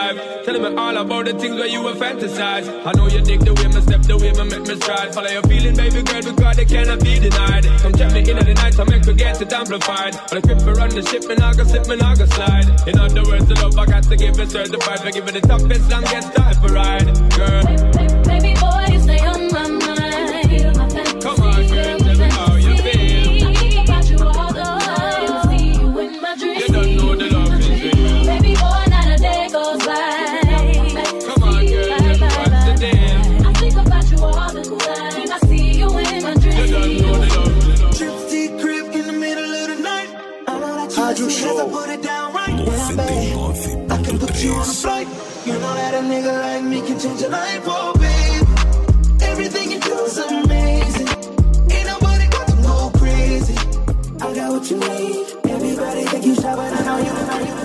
life. Telling me all about the things where you were fantasize. I know you dig the way me step, the way me make me stride. Follow your feeling, baby girl, because they cannot be denied. Come check me in at the night, I make me get it amplified. But I grip me run the ship, me nah go slip, me nah go slide. In other words, the love I got to give it certified. For giving the toughest, longest time for ride, girl. Baby boy, you stay on my mind. Come on, girl, tell me how you feel. I think about you all the time. See you in my dreams. You don't know the love is real. Baby boy, not a day goes by. Come on, girl, tell me what's the deal. I think about you all the time. I see you in my dreams. You don't know the love is real. Gypsy crib in the middle of the night. I know that you listen as I put it down right. Yeah, babe, I can put you on a flight. You know that a nigga like me can change your life, oh babe. Everything you do is amazing. Ain't nobody got to go crazy. I got what you need. Everybody think you shy, but I know you.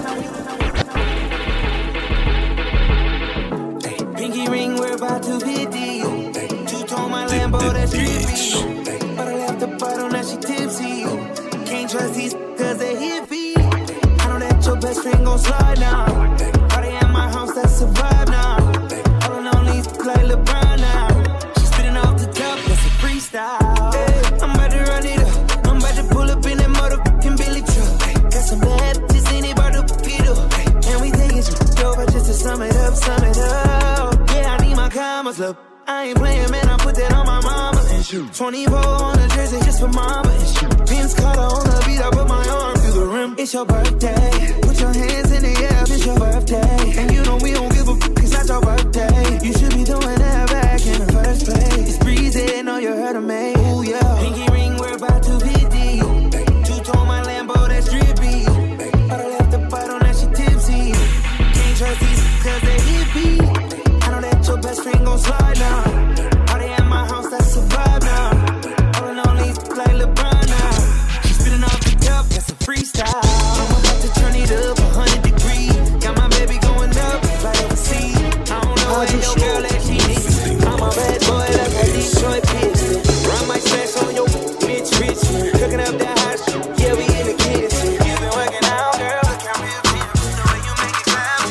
Pinky ring, we're about to be deal. Two-tone my Lambo, that's trippy. But I left the bottle, now she tipsy. Can't trust these cause they hippie. I know that your best friend gon' slide now. Party at my house, that's a vibe now. All alone, these like LeBron now. She spitting off the top, that's a freestyle. Hey, I'm about to run it up. I'm about to pull up in that motherfucking Billy truck. Hey, got some bad bitches in it, about to Pito. Hey, and we taking shit over just to sum it up, sum it up. Yeah, I need my commas, look. I ain't playing, man, I put that on my mama and shoot. 24 on the jersey just for mama and shoot. Vince Carter on the beat, I put my arm through the rim. It's your birthday, put your hands in the air, it's your birthday. And you know we don't give a fuck, it's not your birthday. You should be doing that back in the first place. It's breezy, know you heard of me, ooh yeah. Pinky ring, we're about to be deep. Two-tone my Lambo, that's drippy. But I left the bottle, now she tipsy. Can't trust these cause they hippie. I know that your best friend gon' slide now. Party at my house, that's a vibe now. All alone, these like LeBron now. She's spitting off the top, that's a freestyle. I'm about to turn it up 100 degrees. Got my baby going up, like overseas. I don't know where your girl at, she needs. I'm a bad boy, that's a Detroit bitch. Run my smash on your bitch, rich. Cooking up that hot shit, yeah, we in the kitchen. You been working out, girl, look how real feel. The way you make it clap.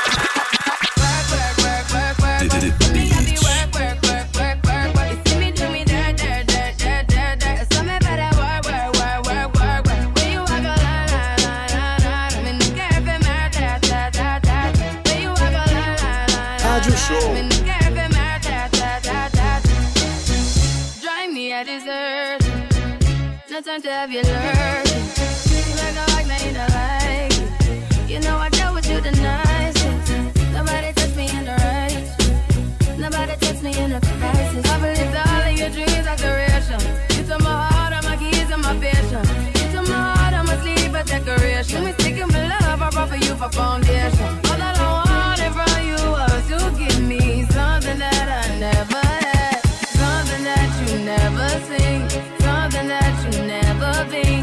Drive me a dessert. No time to have you lurking. Like I like, now you don't like it. You know I dealt with you the nicest. Nobody touched me in the right. Nobody touched me in a crisis. I believe all of your dreams are duration. You took my heart, all my keys, and my vision. You took my heart, all my sleep, a decoration. We sticking with love, I brought for you for foundation. All that I wanted from you was to give me something that I never had. Something that you never seen. Something that you never been.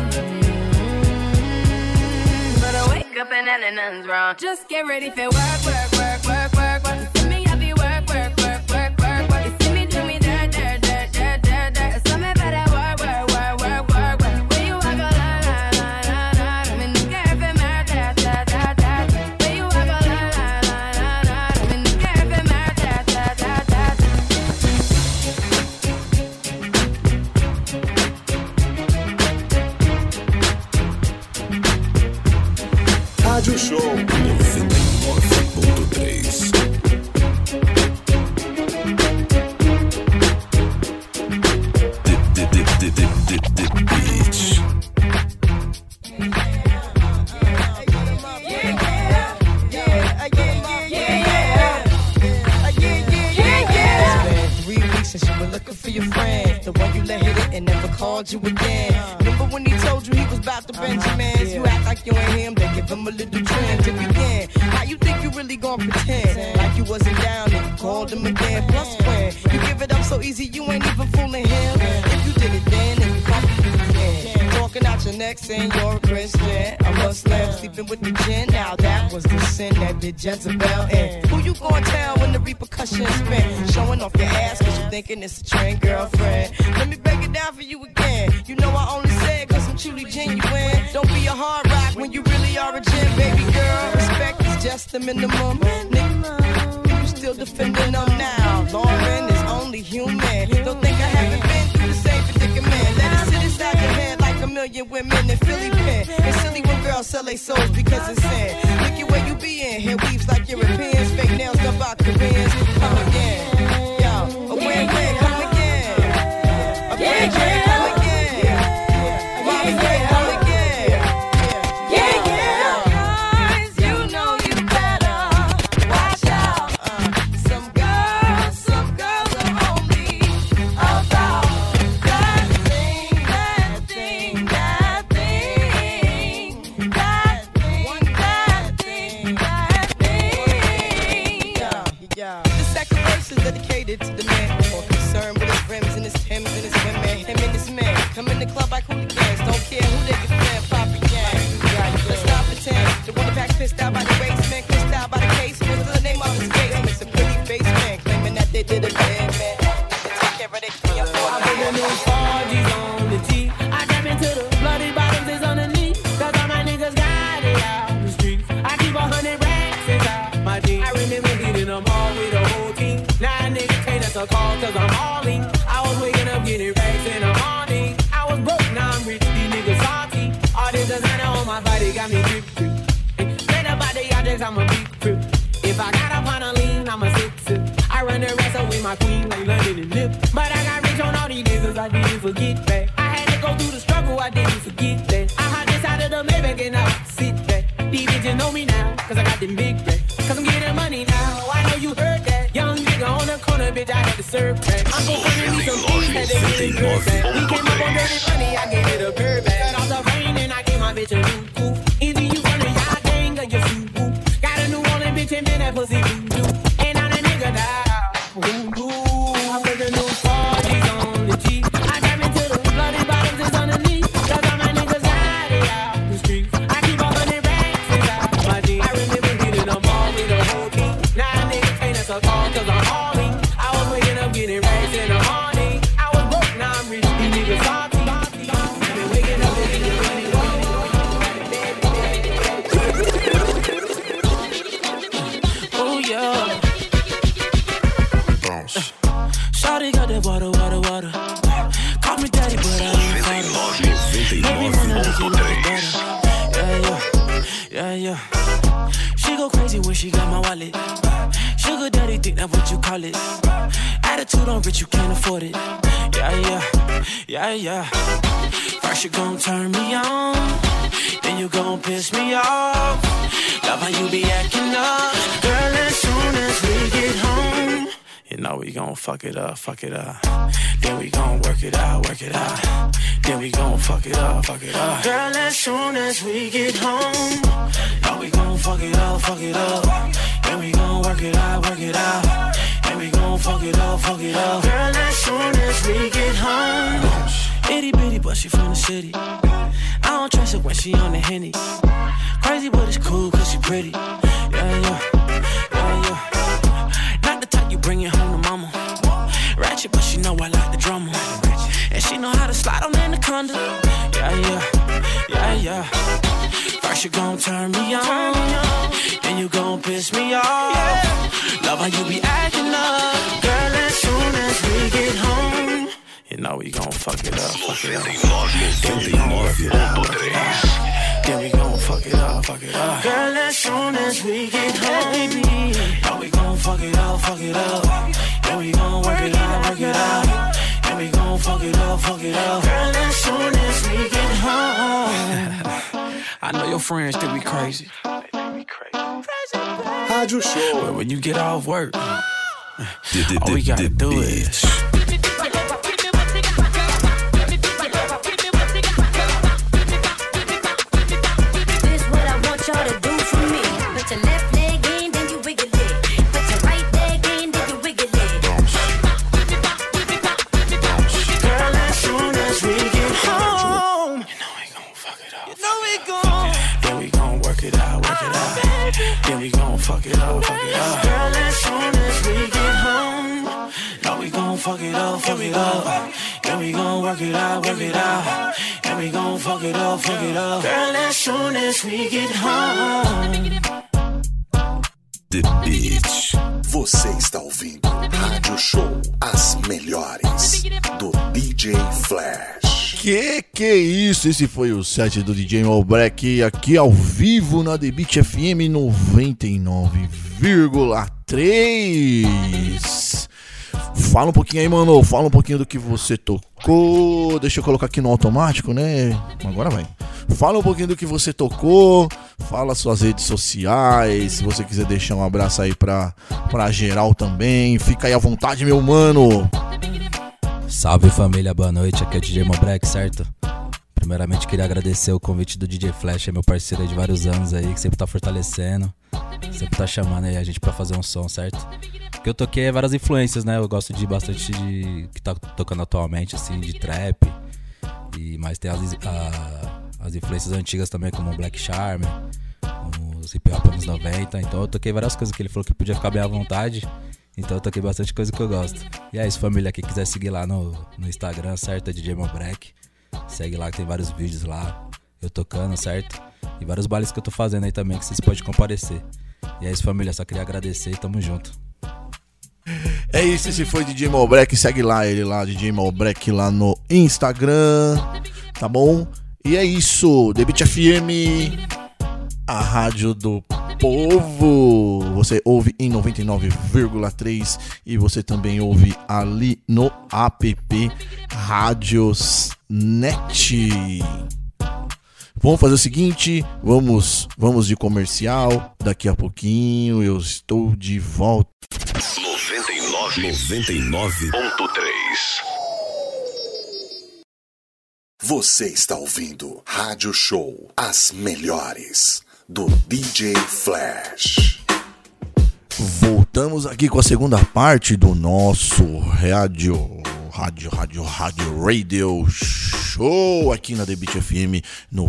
But I wake up and then nothing's wrong. Just get ready for work, work, work, work, work, work. You see me, I be work, work, work, work, work, work. You see me do me dirt, dirt, dirt, dirt, dirt, dirt. Something better work, work, work, work, work, work. When you walk a line, line, line, line, line. I'm in the cafe, man, da, da, da, da. When you walk a line, line, line, line, line. I'm in the cafe, man, da, da, da, da. Rádio Show 99.3. For your friend, the one you let hit it and never called you again. Remember when he told you he was about to Benjamins? You act like you ain't him, then give him a little trend to begin. How you think you really gon' pretend like you wasn't down and you called him again? Plus when you give it up so easy, you ain't even fooling him. If you did it then you probably do it again. Talking out your neck saying you're a Christian, a Muslim, sleeping with the gin. Now that was the sin that did Jezebel in. Who you gon' tell when the repercussions spin? Showing off your ass cause you thinking it's a trend, girlfriend. Let me break it down for you again. You know I only said cause I'm truly genuine. Don't be a hard rock when you really are a gem, baby girl. Respect is just that's the minimum. Nigga, you still defending them now. Lauren is only human. Don't think I haven't been through the same predicament. Let it sit inside your head like a million women in Philly pen. It's silly when girls sell their souls because it's sin. Look at where you be in. Hair weaves like Europeans. Fake nails done by Koreans. Come again. Yo, a win-win. Come again. A win-win. Come again. Dedicated to the man, more concerned with his rims and his Timbs and his women. Him and his man come in the club like hooligans. Don't care who they can fan, Papa Gang. Let's not pretend. The one that packs pissed out by the basement, pissed out by the casement. What's the name of his case? It's a pretty face man claiming that they did it bad, man. Take care of their 3 or 4. I put the new 4G's on the T. I jump into the bloody bottoms is underneath. Cause all my niggas got it out the streets. I keep 100 racks inside my jeans. I remember hitting them all with a whole team. Now niggas can't answer a call cause I'm hauling. I was waking up getting racks in the morning. I was broke, now I'm rich, these niggas salty. All this designer on my body got me drip. Straight up out the objects, I'm a big trip. If I got up on a lean, I'm a sip. I run the rest up with my queen like London and Lip. But I got rich on all these niggas, I didn't forget that. I had to go through the struggle, I didn't forget that. I had this out of the Maybach and I sit back. These bitches know me now, cause I got them big racks. Cause I'm getting money now, I know you heard that. Young nigga on the corner, bitch, I had to serve crack. I'm gon' find me some things that they get good back. We came up on dirty money, I gave it a bird back. Cut off the rain and I gave my bitch a new coupe. Either you run a y'all gang or you shoot whoop. Got a new Orleans bitch and then that pussy voodoo. And I'm a nigga now. I put the new 4G's on the G. I got into the bloody bottoms is underneath. Cause all my niggas got it out the streets. I keep 100 racks inside my jeans. I remember getting them all with a whole team. Now niggas can't answer call cause I'm hauling. I was waking up getting racks in the morning. I was broke, now I'm rich, these niggas salty. I've been waking up and getting money. Oh yeah. Shawty got that water. Call me daddy, but I ain't father. Baby, wanna make you look better. Yeah. She go crazy when she got my wallet. Sugar daddy, think that what you call it. Attitude on rich, you can't afford it. Yeah. First you gon' turn me on, then you gon' piss me off. Love how you be acting up, girl. As soon as we get home, you know we gon' fuck it up. Then we gon' work it out. Then we gon' fuck it up. Girl, as soon as we get home, know we gon' fuck it up. Then we gon' work it out. Then we gon' fuck it up. Girl, as soon as we get home, itty bitty, but she from the city. I don't trust her when she on the Henny. Crazy, but it's cool cause she pretty. Yeah. Not the type you bring it home to mama. Ratchet, but she know I like the drama. And she know how to slide on Anaconda. Yeah. First you gon' turn me on, then you gon' piss me off. Love how you be acting up, girl. As soon as we get home, you know we gon' fuck it up. Then we gon' work it out. Then we gon' fuck it up. Girl, as soon as we get home, baby, know we gon' fuck it up. Then we gon' work it out. Then we gon' fuck it up. Girl, as soon as we get home. I know your friends think we crazy. Rádio Show. But when you get off work, all we gotta do is y'all to do for me. Put your left leg in, then you wiggle it. Put your right leg in, then you wiggle it. Girl, as soon as we get home, you know we gon' fuck it up. Then we gon' work it out. Then we gon' fuck it up. Girl, as soon as we get home, know we gon' fuck it up. Then we gon' work it out. Then we gon' fuck it up. Girl, as soon as we get home. The Beat. Você está ouvindo Rádio Show, as melhores do DJ Flash. Que é isso? Esse foi o set do DJ Malbreak aqui ao vivo na The Beat FM 99,3. Fala um pouquinho aí, mano. Fala um pouquinho do que você tocou. Deixa eu colocar aqui no automático, né? Agora vai. Fala um pouquinho do que você tocou. Fala suas redes sociais. Se você quiser deixar um abraço aí pra geral também. Fica aí à vontade, meu mano. Salve família, boa noite. Aqui é o DJ Malbreak, certo? Primeiramente queria agradecer o convite do DJ Flash, é meu parceiro aí de vários anos aí, que sempre tá fortalecendo, sempre tá chamando aí a gente pra fazer um som, certo? Porque eu toquei várias influências, né? Eu gosto de bastante de que tá tocando atualmente, assim, de trap. Mas tem as influências antigas também, como o Black Charm, os hip hop anos 90. Então eu toquei várias coisas que ele falou que podia ficar bem à vontade. Então eu toquei bastante coisa que eu gosto. E é isso, família, quem quiser seguir lá no Instagram, certo? É DJ Malbreak. Segue lá que tem vários vídeos lá, eu tocando, certo? E vários bailes que eu tô fazendo aí também, que vocês podem comparecer. E é isso, família, só queria agradecer e tamo junto. É isso, esse foi DJ Malbreak, segue lá ele lá, DJ Malbreak lá no Instagram, tá bom? E é isso, The Beat FM, a rádio do povo. Você ouve em 99,3 e você também ouve ali no app Rádios Net. Vamos fazer o seguinte, vamos de comercial. Daqui a pouquinho eu estou de volta. 99.3. Você está ouvindo Rádio Show, as melhores do DJ Flash. Voltamos aqui com a segunda parte do nosso Radio Show aqui na The Beat FM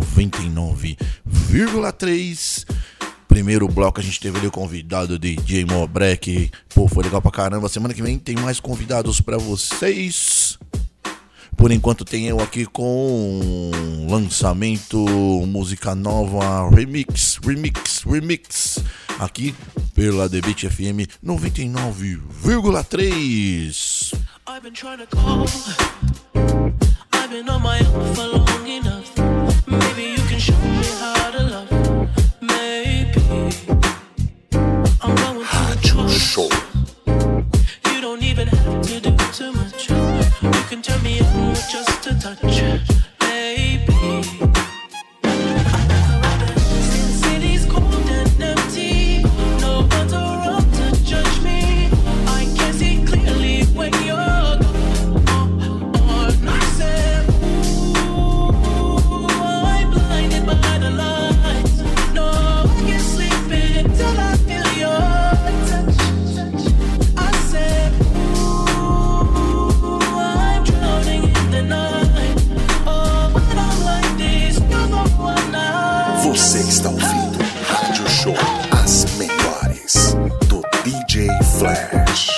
99,3. Primeiro bloco a gente teve ali o convidado DJ Malbreak. Pô, foi legal pra caramba. Semana que vem tem mais convidados pra vocês. Por enquanto tem eu aqui com lançamento, música nova, remix, aqui pela The Beat FM 99,3. I've been trying to call, I've been on my own for long enough. Maybe you can show me how to love. Maybe I'm going Rádio Show. You don't even have to do too much. You can turn me on with just a touch, baby. City's cold and empty. No one's around to judge me. I can see clearly when you're gone. I said, ooh, I'm blinded by the lights. No, I can't sleep until I feel your touch. I said, I'm drowning in the night. Oh, when I'm like this, you're the one I. Você está ouvindo Rádio Show, as melhores do DJ Flash.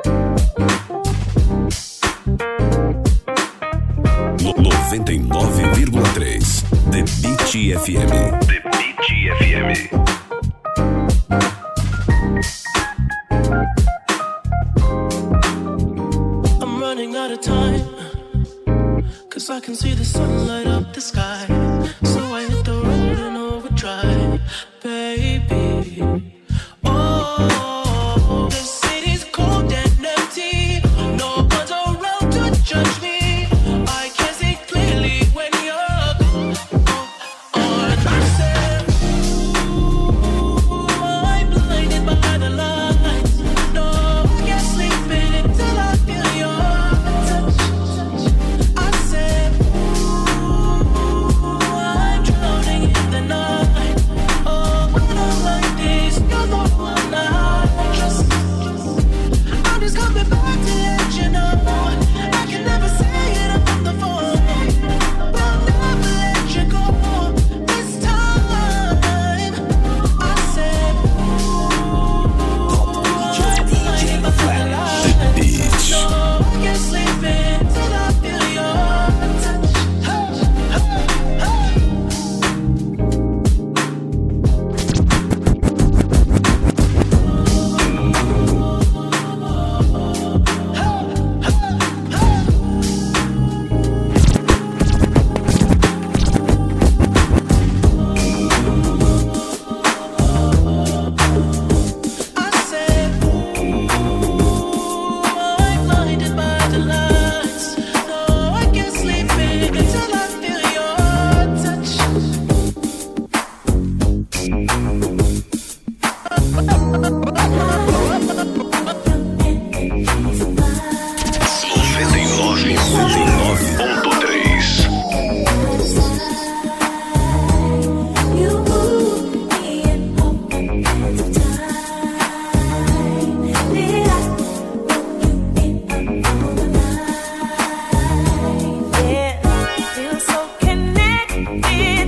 99,3 The Beat FM. The Beat FM. I'm running out of time, 'cause I can see the sun light up the sky. So I hit the road in overdrive, baby. Oh, the city's cold and empty. No one's around to judge me. I can see clearly when you're gone. I said, ooh,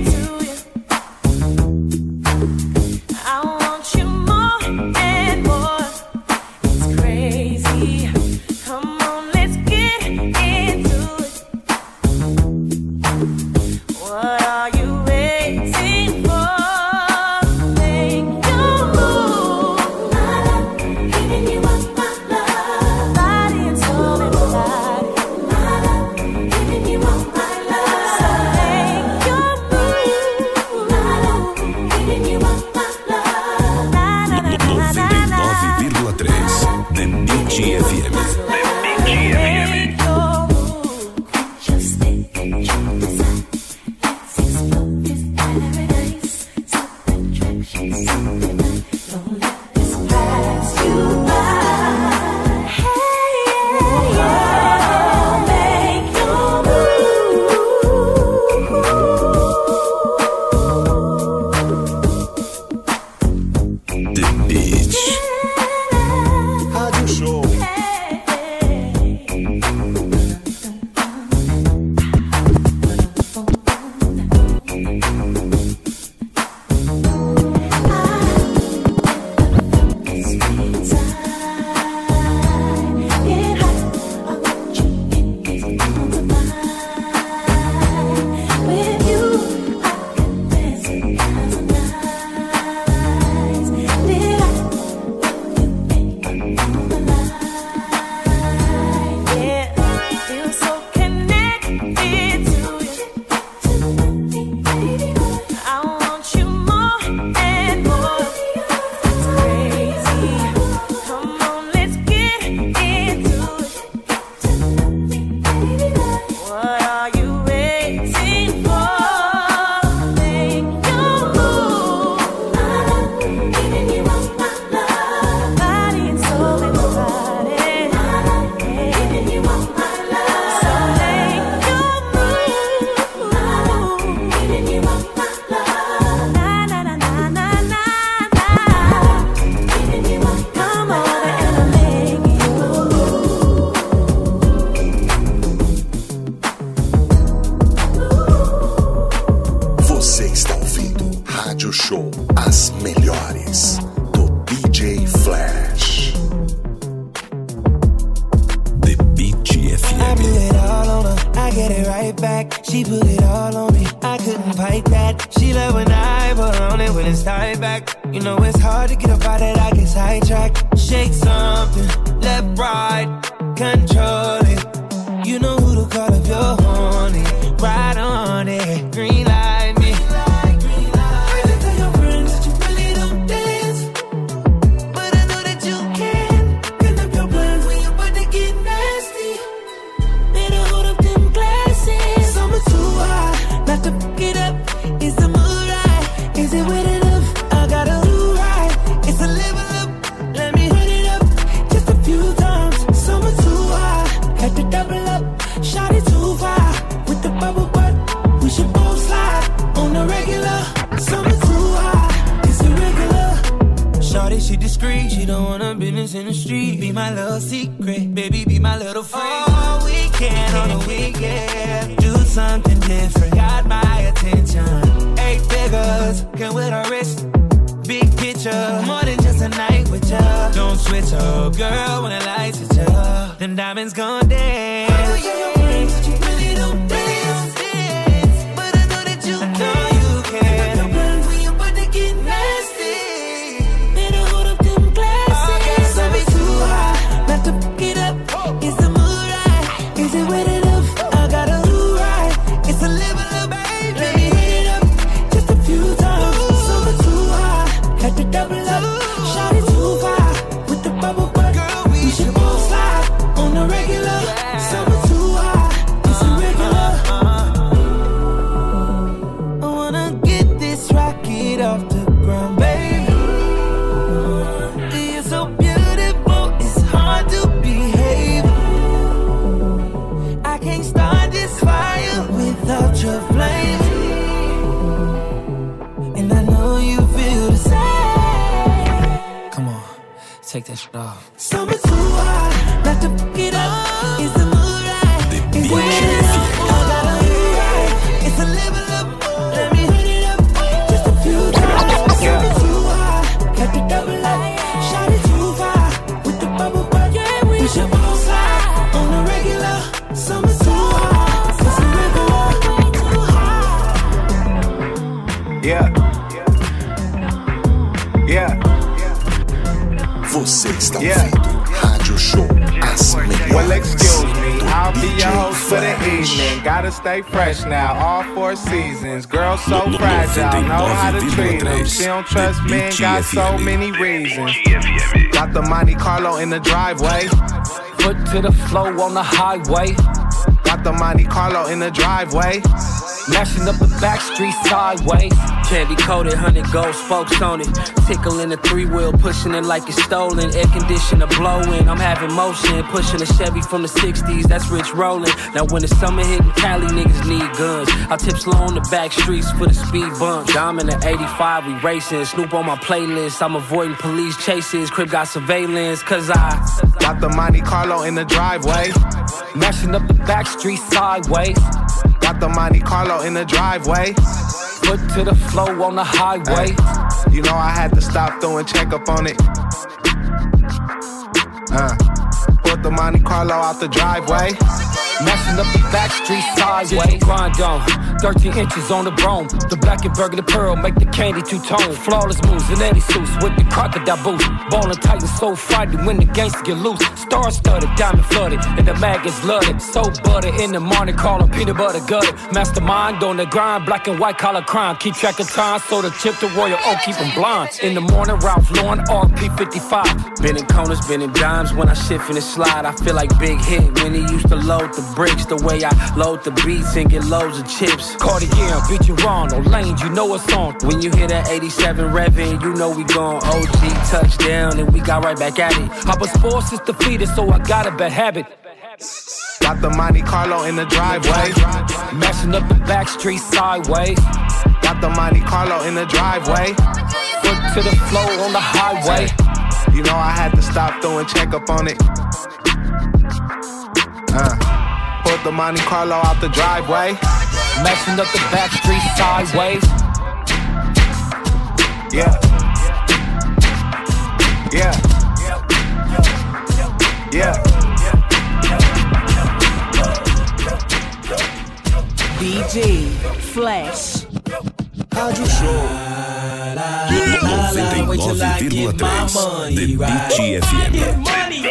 Let me Yeah. Yeah. Você está ouvindo Rádio Show As Melhores. Well, excuse me, I'll be your host for the evening. Gotta stay fresh now, all 4 seasons. Girl so fragile, know how to treat them. She don't trust men, got so many reasons. Got the Monte Carlo in the driveway. Foot to the flow on the highway. Got the Monte Carlo in the driveway. Mashing up the back street sideways. Candy coated, 100 gold spokes on it. Tickling the 3-wheel, pushing it like it's stolen. Air conditioner blowing, I'm having motion. Pushing a Chevy from the 60s, that's rich rolling. Now when the summer hitting Cali, niggas need guns. I tip slow on the back streets for the speed bumps. I'm in the 85, we racing. Snoop on my playlist, I'm avoiding police chases. Crib got surveillance, cause I got the Monte Carlo in the driveway. Mashing up the back street sideways. Got the Monte Carlo in the driveway. Foot to the flow on the highway. Hey, you know I had to stop through and check up on it. Put the Monte Carlo out the driveway. Mashing up the back street sideways. Grind on 13 inches on the chrome. The black and burgundy pearl make the candy two-tone. Flawless moves and Eddie suits with the crocodile boots. Ballin' tight and so frightened when the gangsters get loose. Star-studded, diamond flooded, and the mag is flooded. So butter in the morning, call them peanut butter gutter. Mastermind on the grind, black and white collar crime. Keep track of time, so the chip to Royal Oak keep them blind. In the morning, Ralph Lauren, RP55. Been in corners, been in dimes. When I shift in the slide, I feel like Big Hit. When he used to load the bricks, the way I load the beats and get loads of chips. Cartier, beat you wrong, no lanes, you know it's on. When you hear that 87 revving, you know we gone OG touchdown and we got right back at it. I was forced is defeated, so I got a bad habit. Got the Monte Carlo in the driveway. Mashing up the back street sideways. Got the Monte Carlo in the driveway. Foot to the flow on the highway. You know I had to stop through and check up on it. Put the Monte Carlo out the driveway. Mashing up the back street sideways. Yeah. Yeah. Yeah. DJ Flash. Rádio Show 99,3 The Beat FM.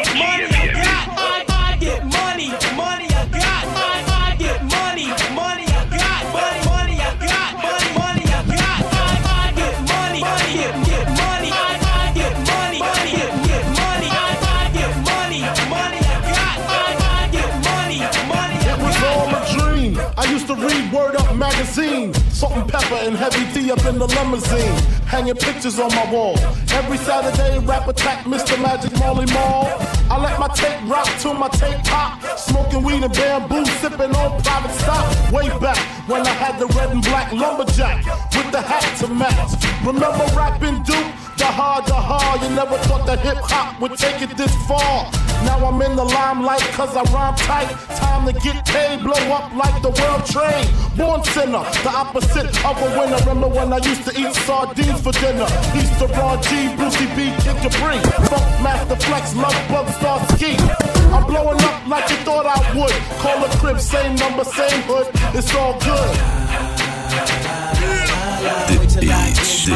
To read Word Up magazine, Salt and Pepper and Heavy D up in the limousine, hanging pictures on my wall. Every Saturday, rap attack Mr. Magic Marley Marl. I let my tape rock till my tape pop, smoking weed and bamboo, sipping on private stock. Way back when I had the red and black lumberjack with the hat to match. Remember rapping Duke? The hard, you never thought that hip-hop would take it this far. Now I'm in the limelight cause I rhyme tight. Time to get paid, blow up like the world trade. Born sinner, the opposite of a winner. Remember when I used to eat sardines for dinner? East to Ron G, Brucey B, Kid Capri, Funk Master Flex, Love Bug, Star Ski. I'm blowing up like you thought I would. Call a crib, same number, same hood. It's all good. The Beach.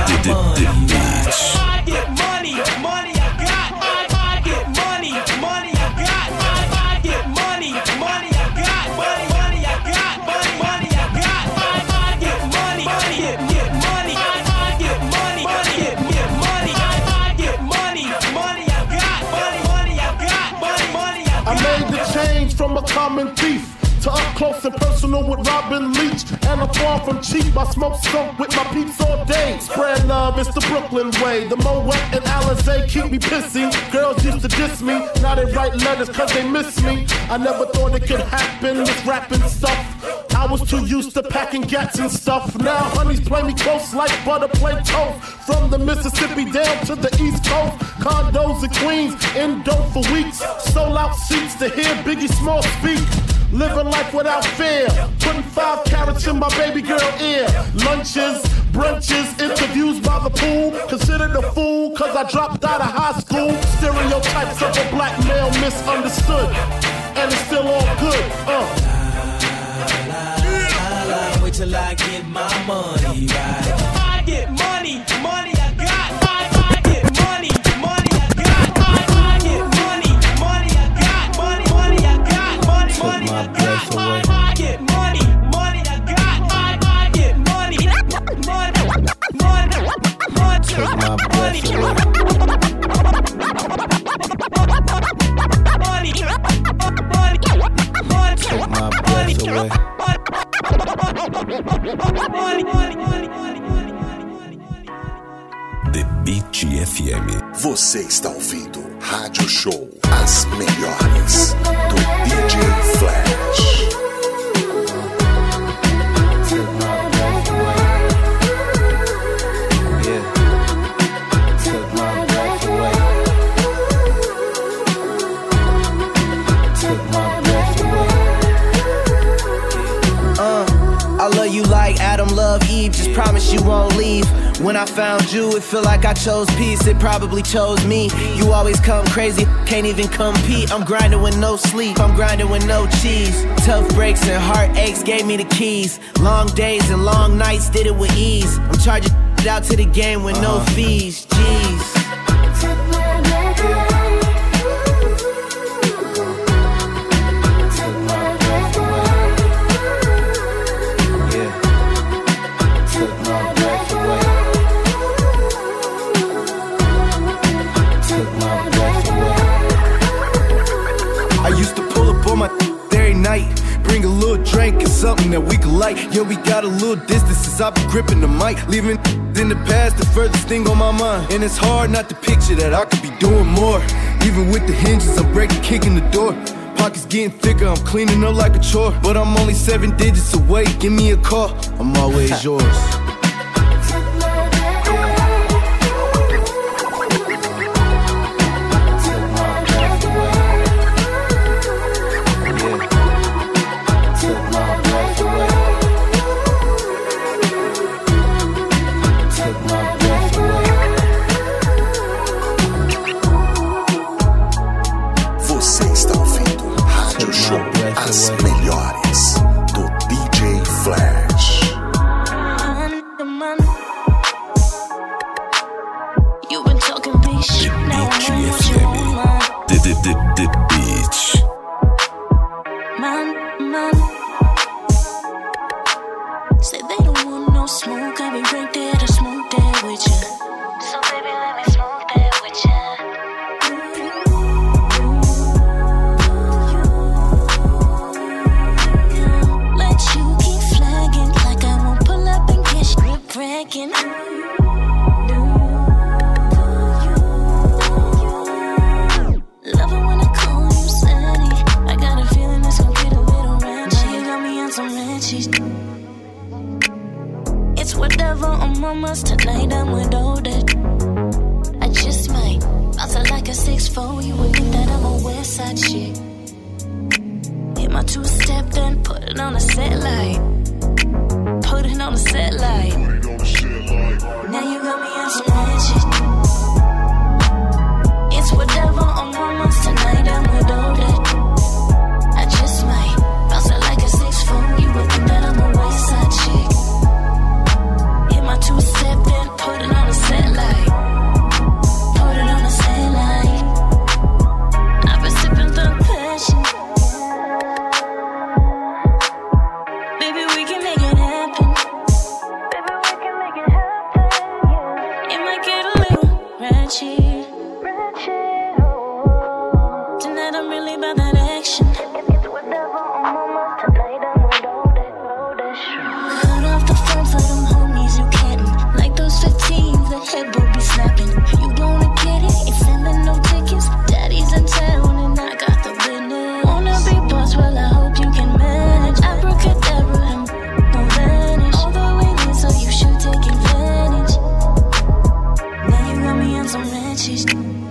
I get money, money I got. I get money, money I got. I get money, money I got. Money I got. Money I got. I get money, get money. I get money, get money. I get money, money I got. Money I got. Money I got. I made the change from a common thief to up close and personal with Robin Leach. And I'm far from cheap, I smoke skunk with my peeps all day. Spread love, it's the Brooklyn way. The Moet and Alizé keep me pissy. Girls used to diss me, now they write letters cause they miss me. I never thought it could happen, this rapping stuff. I was too used to packing gats and stuff. Now honeys play me close like butter play toast. From the Mississippi down to the East Coast. Condos in Queens, in dope for weeks. Sold out seats to hear Biggie Small speak. Living life without fear, putting 5 carats in my baby girl ear. Lunches, brunches, interviews by the pool. Considered a fool cause I dropped out of high school. Stereotypes of a black male misunderstood. And it's still all good, Wait till I get my money right. Beat FM. Você está ouvindo Rádio Show, as melhores do DJ Flash. I love you like Adam loved Eve, just promise you won't leave. When I found you, it feel like I chose peace, it probably chose me. You always come crazy, can't even compete. I'm grinding with no sleep, I'm grinding with no cheese. Tough breaks and heartaches gave me the keys. Long days and long nights did it with ease. I'm charging out to the game with no fees, jeez. Night. Bring a little drink and something that we could like. Yeah, we got a little distance since I've been gripping the mic. Leaving in the past, the furthest thing on my mind. And it's hard not to picture that I could be doing more. Even with the hinges, I'm breaking, kicking the door. Pockets getting thicker, I'm cleaning up like a chore. But I'm only 7 digits away, give me a call. I'm always yours. As melhores do DJ Flash. You've been talking big shit. Now I know what you want. The beach. Man. Say they don't want no smoke. I'll be right there to smoke that with you. So baby, let me smoke that with you. Bragging. Love it when I call you Sandy. I got a feeling it's gonna get a little ranchy. You got me on some ranchies. It's whatever on mamas tonight. I'm with all that. I just might bounce it like a 6'4". You would think that I'm a West Side chick. Hit my 2-step, then put it on a set light. Put it on a set light. Now you got me on some magic. It's whatever on mamas tonight. I'm with all that. I just might bounce it like a 6'4". You would think that I'm a West Side chick. Hit my 2-step, then put it on a set light. Put it on a set light. I've been sipping the passion. Baby, we can make it happen. Tonight I'm really about that action. It's whatever on mama tonight. I'm with all that. Cut off the phone for them homies you can't. Like those 15s that headboard be snapping. You gonna get it? Ain't sending no tickets. Daddy's in town and I got the business. Wanna be boss? Well, I hope you can manage. Abracadabra and won't vanish. All the way in, so you should take advantage. Now you got me on some ranches.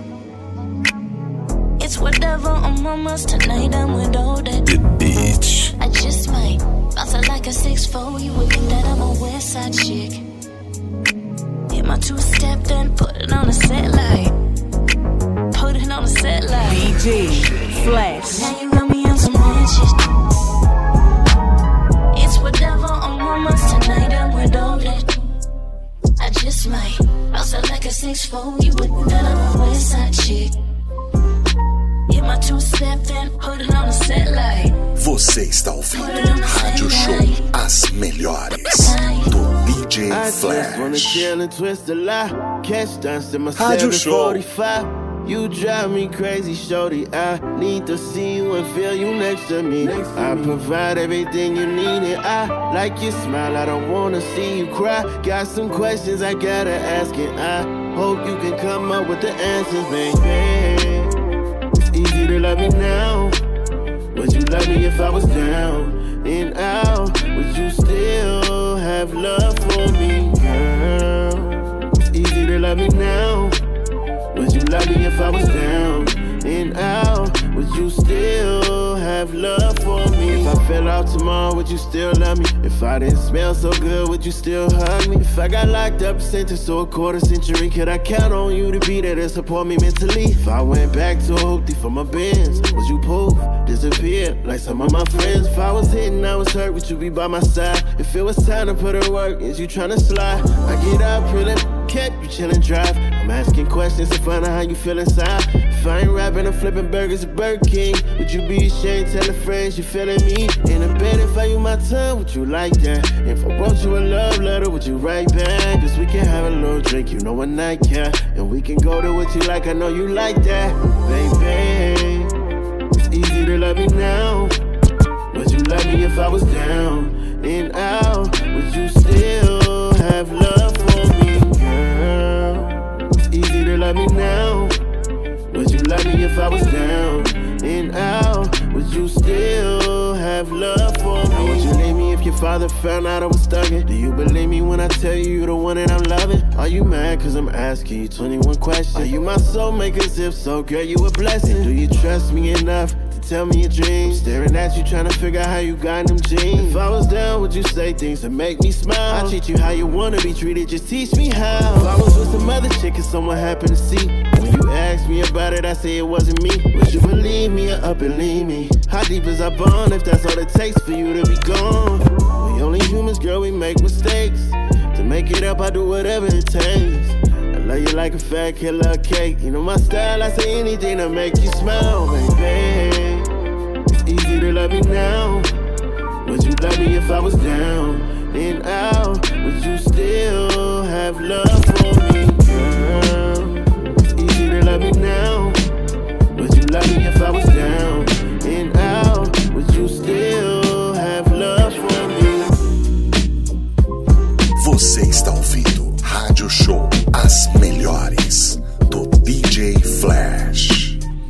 It's whatever on mamas tonight. I'm with all that. The beach. I just might bounce it like a 6'4". You would think that I'm a West Side chick. Hit my 2-step, then put it on a set light. Put it on a set light. DJ Flash. Now you got me on some ranches. It's whatever on mamas tonight. I'm with all that. I just might bounce it like a 6'4". You would think that I'm a West Side chick. Hit my 2-step, then put it on a set light. Você está ouvindo Rádio Show, as melhores do DJ Flash. Rádio Show. You drive me crazy, shorty. I need to see you and feel you next to me. I provide everything you need, and I like your smile. I don't wanna see you cry. Got some questions I gotta ask, and I Hope you can come up with the answers, baby. It's easy to love me now. Would you love me if I was down and out? Would you still have love for me, girl? It's easy to love me now. Would you love me if I was down and out? Would you still have love for me? If I fell out tomorrow, would you still love me? If I didn't smell so good, would you still hug me? If I got locked up, sentenced to a quarter century, could I count on you to be there to support me mentally? If I went back to a hoopty for my Benz, would you poof, disappear like some of my friends? If I was hitting, I was hurt, would you be by my side? If it was time to put in work, is you tryna slide? I get up, pulling, kept you chillin' drive. I'm asking questions to find out how you feel inside. If I ain't rapping or flipping burgers at Burger King, would you be ashamed telling friends you feeling me? In a bed, if I use my tongue, would you like that? If I wrote you a love letter, would you write back? Cause we can have a little drink, you know when I care. And we can go to what you like, I know you like that. Baby, it's easy to love me now. Would you love me if I was down and out? Would you still have love for me, girl? It's easy to love me now. Would you love me if I was down and out? Would you still have love for me? Would you leave me if your father found out I was thugging? Do you believe me when I tell you you're the one that I'm loving? Are you mad cause I'm asking you 21 questions? Are you my soulmate? Cause if so, girl, you a blessing. Do you trust me enough to tell me your dreams? Staring at you trying to figure out how you got them jeans. If I was down, would you say things that make me smile? I treat you how you wanna be treated, just teach me how. If I was with some other chick and someone happened to see, when you asked me about it, I say it wasn't me. Would you believe me or up and leave me? How deep is our bond if that's all it takes for you to be gone? We only humans, girl, we make mistakes. To make it up, I do whatever it takes. I love you like a fat killer cake. You know my style, I say anything to make you smile, baby. It's easy to love me now. Would you love me if I was down and out? Would you still have love for me, girl? It's easy to love me now. Would you love me if I was down and out? Would you still have love for me? Você está ouvindo Rádio Show As Melhores do DJ Flash.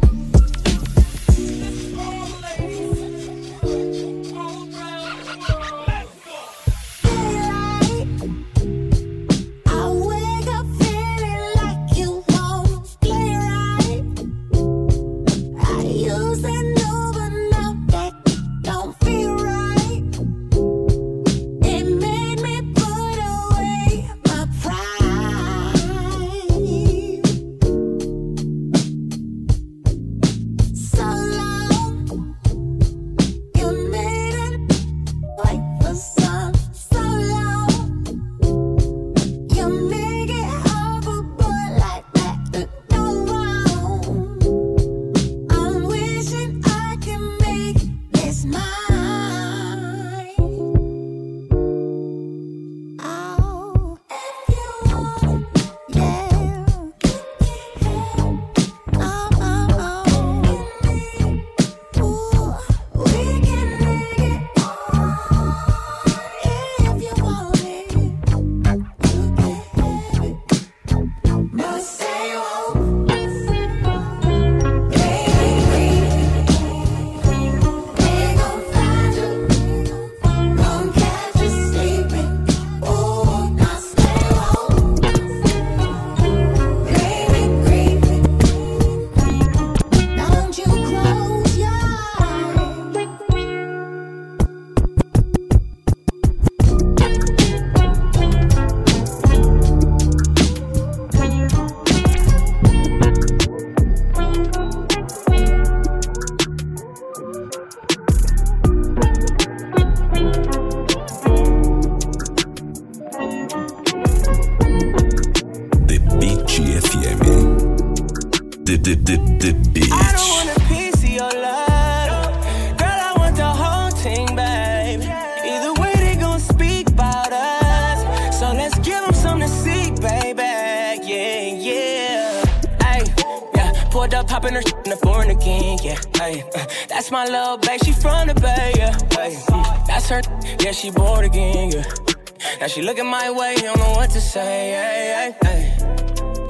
The beach. I don't want a piece of your love, girl. I want the whole thing, babe. Either way, they gon' speak about us, so let's give them something to see, baby. Yeah, yeah. Ay, yeah. Pulled up, hopping her in the foreign again. Yeah, ay, that's my little babe. She from the Bay. Yeah, ay, that's her. Yeah, she bored again. Yeah. Now she looking my way, don't know what to say. Ay, ay, ay.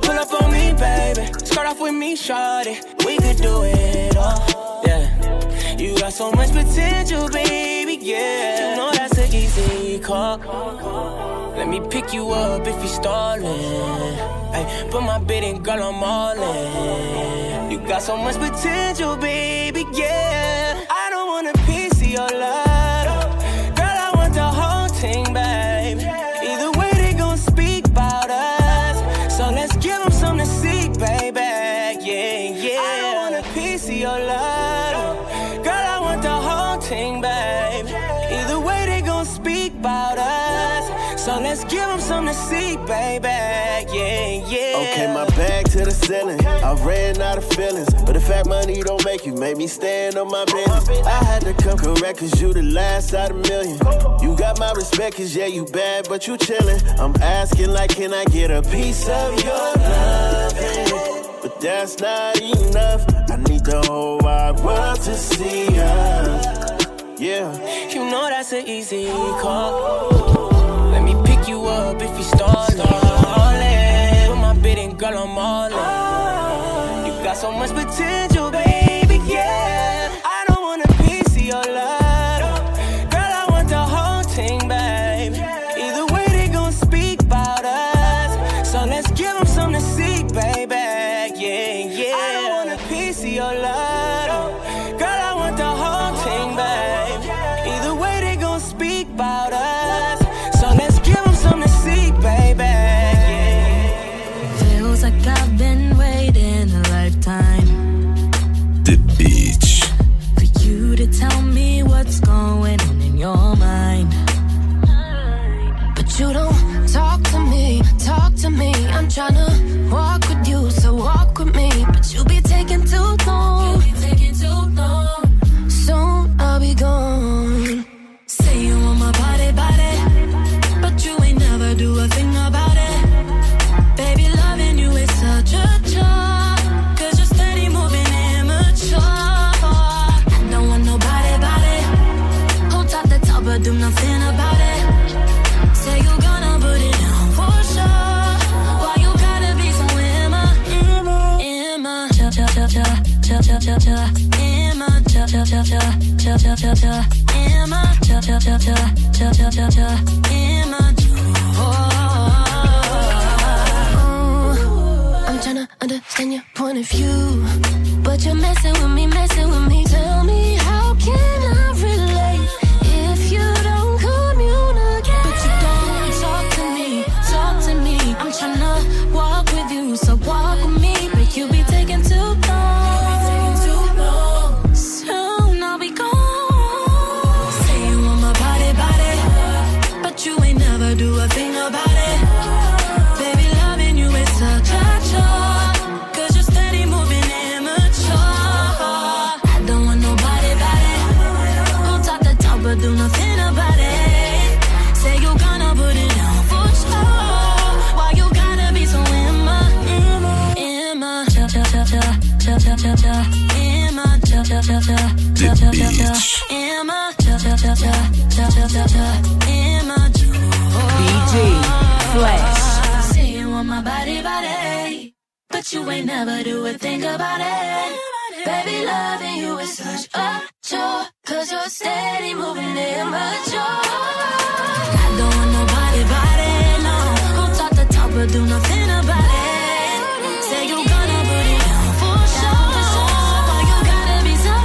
Pull up on me, baby. Start off with me, shawty. We could do it all, yeah. You got so much potential, baby, yeah. You know that's an easy call. Let me pick you up if you're stalling. Ay, put my bid in, girl, I'm all in. You got so much potential, baby, yeah. I don't want a piece of your love. Girl, I want the whole thing, babe. Either way, they gon' speak about us. So let's give them something to see, baby, yeah, yeah. I don't want a piece of your love. Girl, I want the whole thing, babe. Either way, they gon' speak about us. So let's give them something to see, baby, yeah, yeah. Okay, my bag to the ceiling. I ran out of feelings, but the fact money don't make you made me stand on my business. I had to come correct, cause you the last out of million. You got my respect, cause yeah, you bad, but you chillin'. I'm asking like, can I get a piece of your loving? But that's not enough. I need the whole wide world to see us, yeah. You know that's an easy call. Let me pick you up if you stallin'. Put my bid in, girl, I'm all in. You got so much potential, baby, yeah. I don't want a piece of your love. Girl, I want the whole thing, babe. Either way, they gon' speak about us. So let's give them something to see, baby, yeah, yeah. I don't want a piece of your love. Girl, I want the whole thing, babe. Either way, they gon' speak about us. So let's give them something to see, baby, yeah. Feels like I've been waiting a lifetime. The Beach. For you to tell me what's going on in your mind. But you don't talk to me, talk to me. I'm tryna walk with you, so walk with me. But you be taking too long. You be taking too long. Soon I'll be gone. Say you want my body, but you ain't never do a thing about it. Baby, loving you is such a chore, cause you're steady moving immature. I don't want nobody, hold top the top but do nothing about it. Say you gonna put it down for sure. Why you gotta be so Emma, I'm tryna understand your point of view, but you're messing with me. Tell me, how can I relate if you don't communicate? But you don't talk to me. I'm tryna walk with you, so walk with me. But you be taking too long. Soon I'll be gone. Say you want my body, but you ain't never do a thing about it. Baby, loving you is such a chore, cause you're steady moving immature. I don't want nobody, hold top the top but do nothing about it. Say you gonna put it down for sure. Why you gotta be so Emma, DJ Flash. Say you want my body, but you ain't never do a thing about it. Baby, loving you is such a chore, cause you're steady moving immature. I don't want nobody, no, hold top the top but do nothing about it. Say you gonna put it down for sure. Why you gotta be so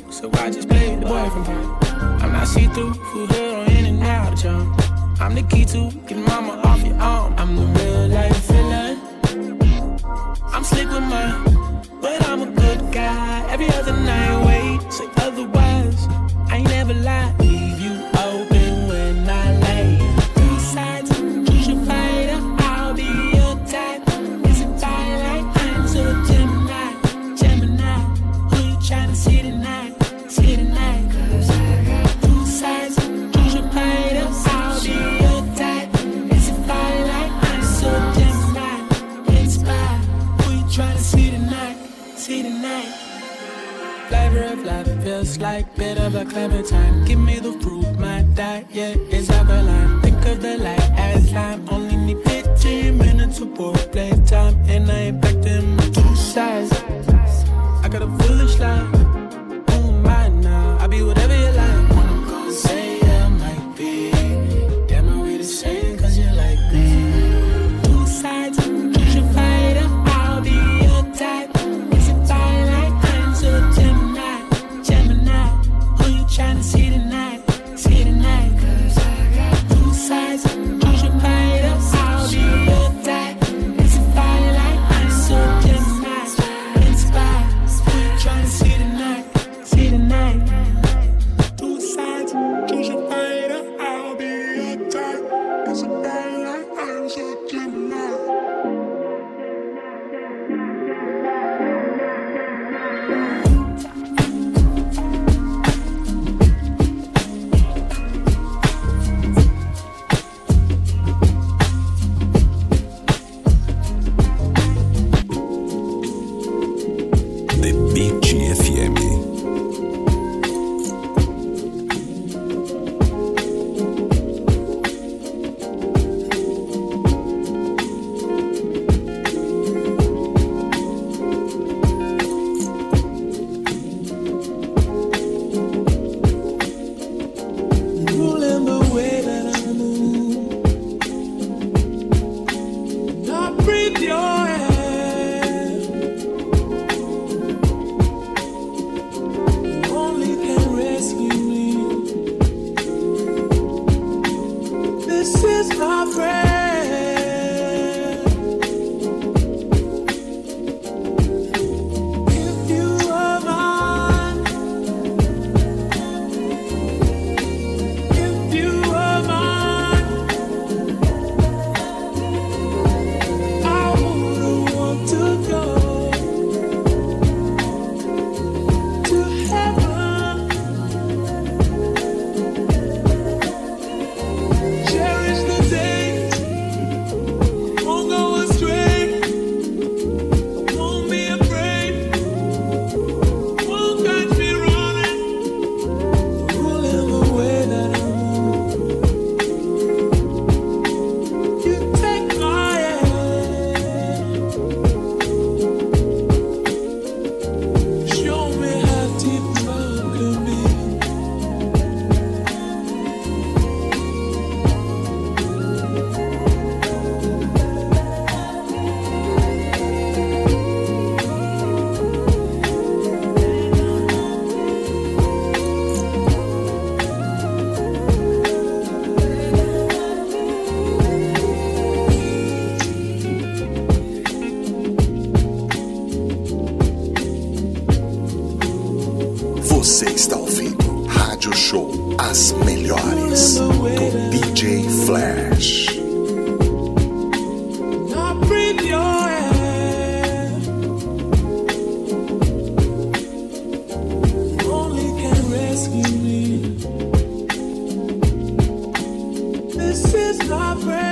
so I just played the boyfriend part. I'm not see-through, full hood on in and out of town. I'm the key to get mama off your arm. I'm the real life villain. I'm slick with mine, but I'm a good guy. Every other night, wait, say otherwise. I ain't never lied, leave you open when I lay. Two sides, choose your fighter, I'll be your type. It's a twilight, I'm so Gemini, Gemini. Who you tryna see tonight, see tonight? Cause I got two sides, choose your fighter, I'll be your type. It's a twilight, I'm so Gemini, inspired. Who you tryna see tonight, see tonight? Flavor of life feels like bit of a clementine. Give me the fruit, my diet is alkaline. Think of the light as lime. Only need 15 minutes of play time, and I ain't back them two sides. I got a foolish lie. Oh my now, I be whatever you like. When I'm gonna say I might be. Damn, are we the same? Cause you like me. Two sides, choose your fighter. I'll be your type. It's a twilight, I'm so Gemini, Gemini. Who you tryna see tonight, see tonight? Cause I got two sides, choose your fighter. I'll be your type. It's a twilight, I'm so Gemini, inspired. Who you tryna see tonight, see tonight? Two sides, choose your fighter. I'll be your type. It's a twilight, I'm so Gemini. The Beat FM. Ruling the way that I move. I breathe your air. Only can rescue me. This is my prayer. If you are mine, if you are mine, I wouldn't want to go to heaven. Cherish the day, won't go astray, won't be afraid, won't catch me running, ruling the way that I move. You take my hand, show me how deep love can be. Você está ouvindo Rádio Show As Melhores do DJ Flash. I breathe your air. Only can rescue me. This is my prayer.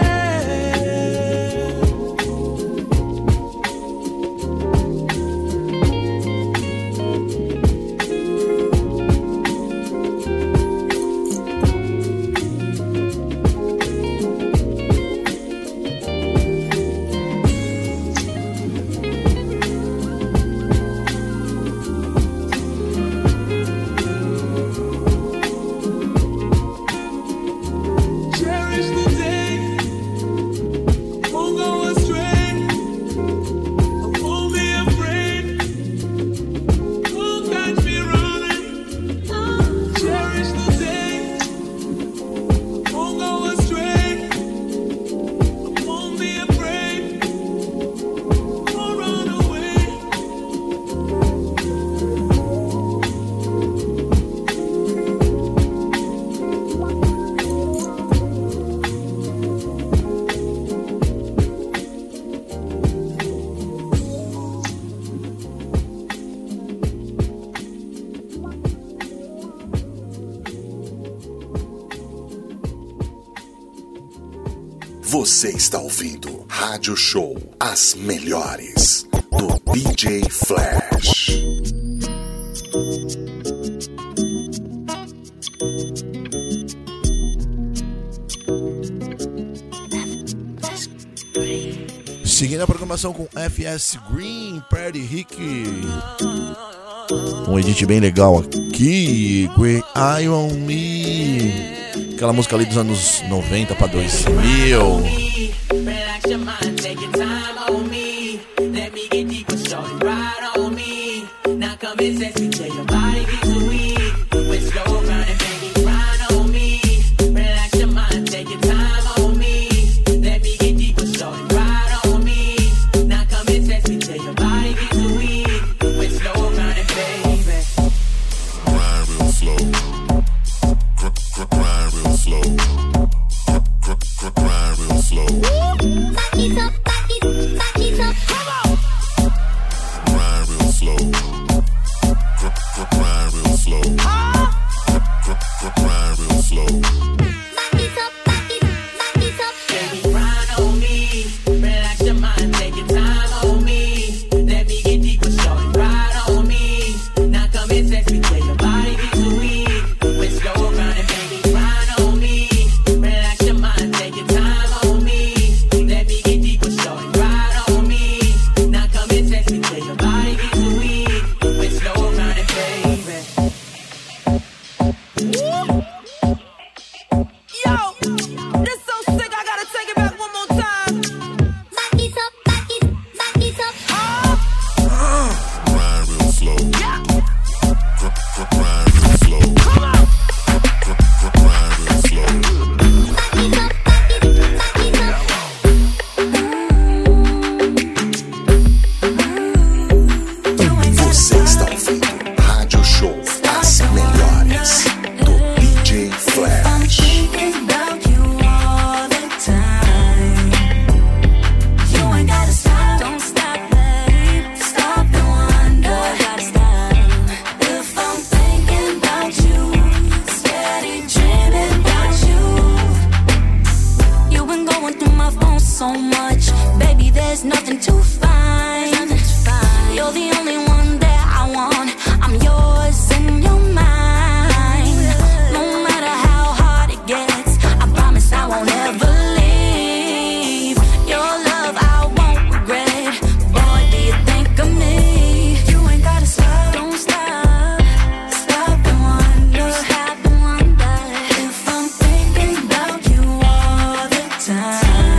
Você está ouvindo Rádio Show, as melhores do DJ Flash. Seguindo a programação com FS Green, Party Rick. Um edit bem legal aqui. Great Eye on Me. Aquela música ali dos anos 90 pra 2000. Relax your mind, take your time on me. Let me get deeper, shorty, ride on me. Now come and sex me till your body gets too weak. With slow grinding, baby, grind on me. Relax your mind, take your time on me. Let me get deeper, shorty, ride on me. Now come and sex me till your body gets too weak. With slow grinding, baby. Grind real slow. Grind real slow. Grind real slow. Back it up, come on. Grind real slow. Grind real slow. Grind real slow. Back it up. Baby, grind on me. Relax your mind, take your time on me. Let me get deeper, shorty, ride on me. Now come and sex me till your body gets too weak. With slow grinding, baby, grind on me. Relax your mind, take your time on me. Let me get deeper, shorty, ride on me. Now come and sex me till your body gets too weak. With slow grinding, baby. Yo, this so sick, I gotta take it back one more time. Back it up. Grind real slow. Yeah. Grind real slow. Grind real slow. Você está ouvindo Rádio Show, as melhores do DJ Flash. So much, baby, there's nothing to find. You're the only one that I want. I'm yours and you're mine. No matter how hard it gets, I promise I won't ever leave. Your love I won't regret. Boy, do you think of me? You ain't gotta stop, don't stop. Stop and wonder, stop and wonder if I'm thinking about you all the time.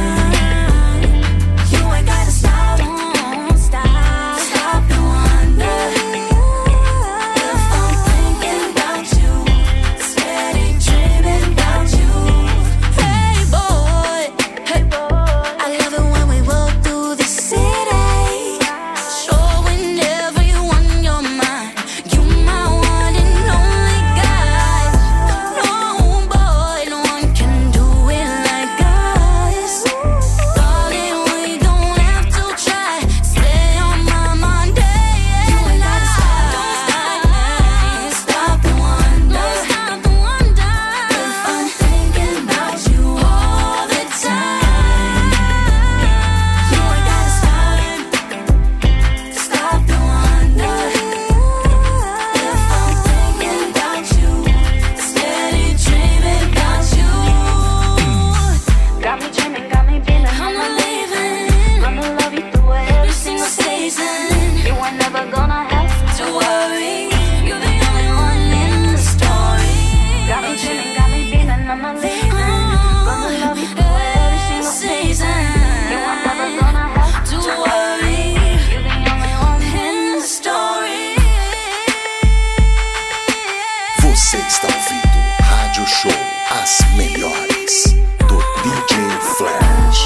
Você está ouvindo Rádio Show, as melhores do DJ Flash.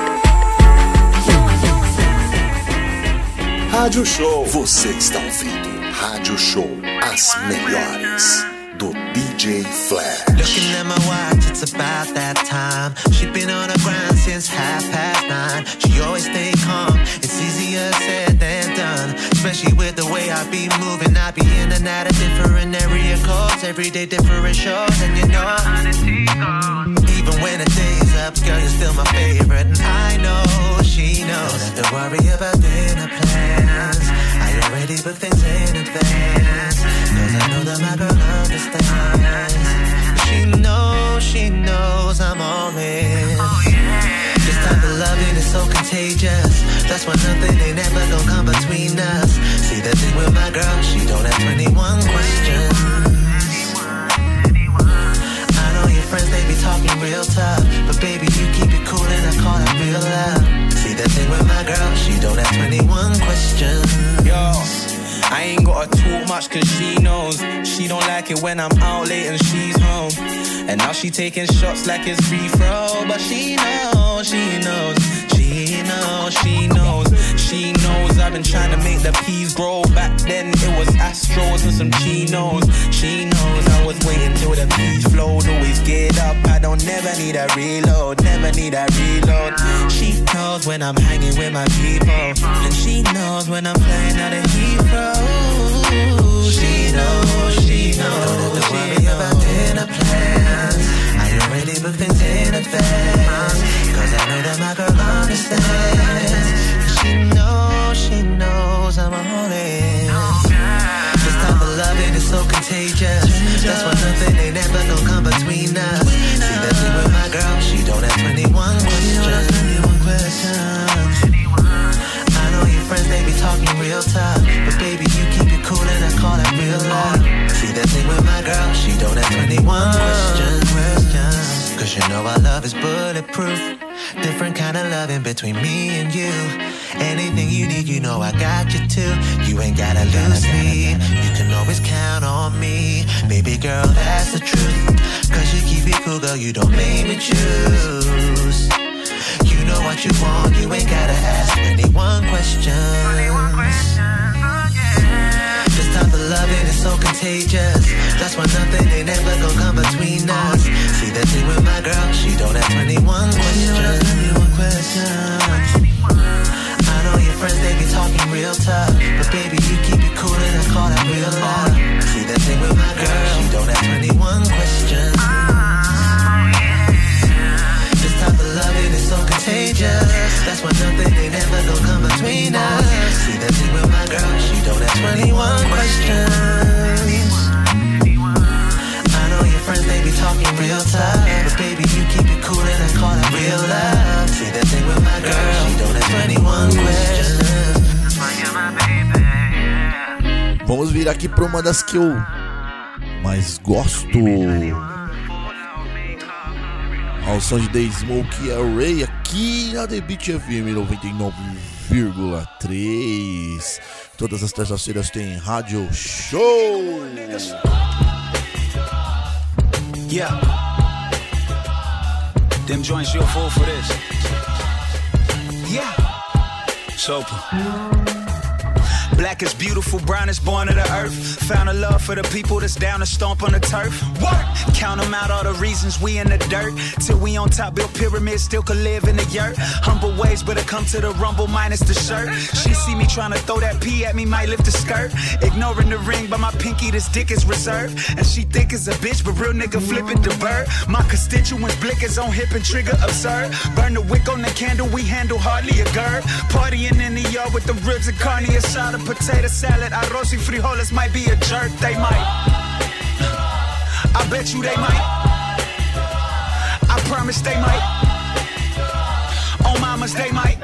Rádio Show. Você está ouvindo Rádio Show, as melhores do DJ Flash. Looking at my watch, it's about that time. She been on the grind since 9:30. She always stay calm, it's easier said than done. Especially with the way I be moving. I be in and out of different area codes. Every day different shows. And you know even when the day's up, girl, you're still my favorite. And I know she knows. Don't have to worry about dinner plans. I already booked things in advance. Cause I know that my girl understands. She knows I'm all in. This type of loving is so contagious. That's why nothing ain't ever gonna come between us. See the thing with my girl, she don't have 21 questions. I know your friends, they be talking real tough, but baby, you keep it cool and I call that real love. See the thing with my girl, she don't have 21 questions. Yo, I ain't gotta talk much cause she knows. She don't like it when I'm out late and she's home. And now she taking shots like it's free throw. But she knows, she knows, she knows, she knows, she knows. I've been trying to make the peas grow. Back then it was Astros and some chinos. She knows I was waiting till the peas flowed. Always get up, I don't never need a reload. Never need a reload. She knows when I'm hanging with my people. And she knows when I'm playing out of Heathrow. She knows, she knows. Don't worry about dinner plans. I already booked things in advance. Cause I know that my girl understands. She knows I'm all in. This type of loving is so contagious. That's why nothing ain't ever gonna come between us. See that thing with my girl, she don't have 21 questions. I know your friends, they be talking real tough, but baby, you keep it cool and I call that real love. See that thing with my girl, she don't have 21 questions. Cause you know our love is bulletproof. Different kind of loving between me and you. Anything you need, you know I got you too. You ain't gotta lose me. You can always count on me. Baby girl, that's the truth. Cause you keep it cool, girl, you don't make me choose. You know what you want, you ain't gotta ask 21 questions. This type of loving is so contagious. That's why nothing ain't ever gonna come between us. See that thing with my girl, she don't have 21 questions. I know your friends, they be talking real tough, but baby, you keep it cool and I call that real love. See that thing with my girl, she don't have 21 questions. This type of loving is so contagious. That's why nothing ain't ever gonna come between us. See that thing with my girl, she don't have 21 questions. I know your friends, they be talking real tough, but baby, you keep it cool and I call that real love. See that thing with my girl, she don't have 21 questions. Vamos vir aqui pra uma das que eu mais gosto. Ao som de The Smoke Array aqui na The Beat FM 99,3. Todas as terças-feiras tem Rádio Show. Yeah. Them joints you'll fall for this. Yeah. Sopa. Black is beautiful, brown is born of the earth. Found a love for the people that's down to stomp on the turf. Work! Count them out, all the reasons we in the dirt. Till we on top, build pyramids, still could live in the yurt. Humble ways, but it come to the rumble minus the shirt. She see me tryna throw that pee at me, might lift the skirt. Ignoring the ring, but my pinky, this dick is reserved. And she think it's a bitch, but real nigga flipping the bird. My constituents blickers on hip and trigger absurd. Burn the wick on the candle, we handle hardly a gird. Partying in the yard with the ribs and carne asada. Potato salad, arroz y frijoles might be a jerk, they might. I bet you they might. I promise they might. On mamas they might.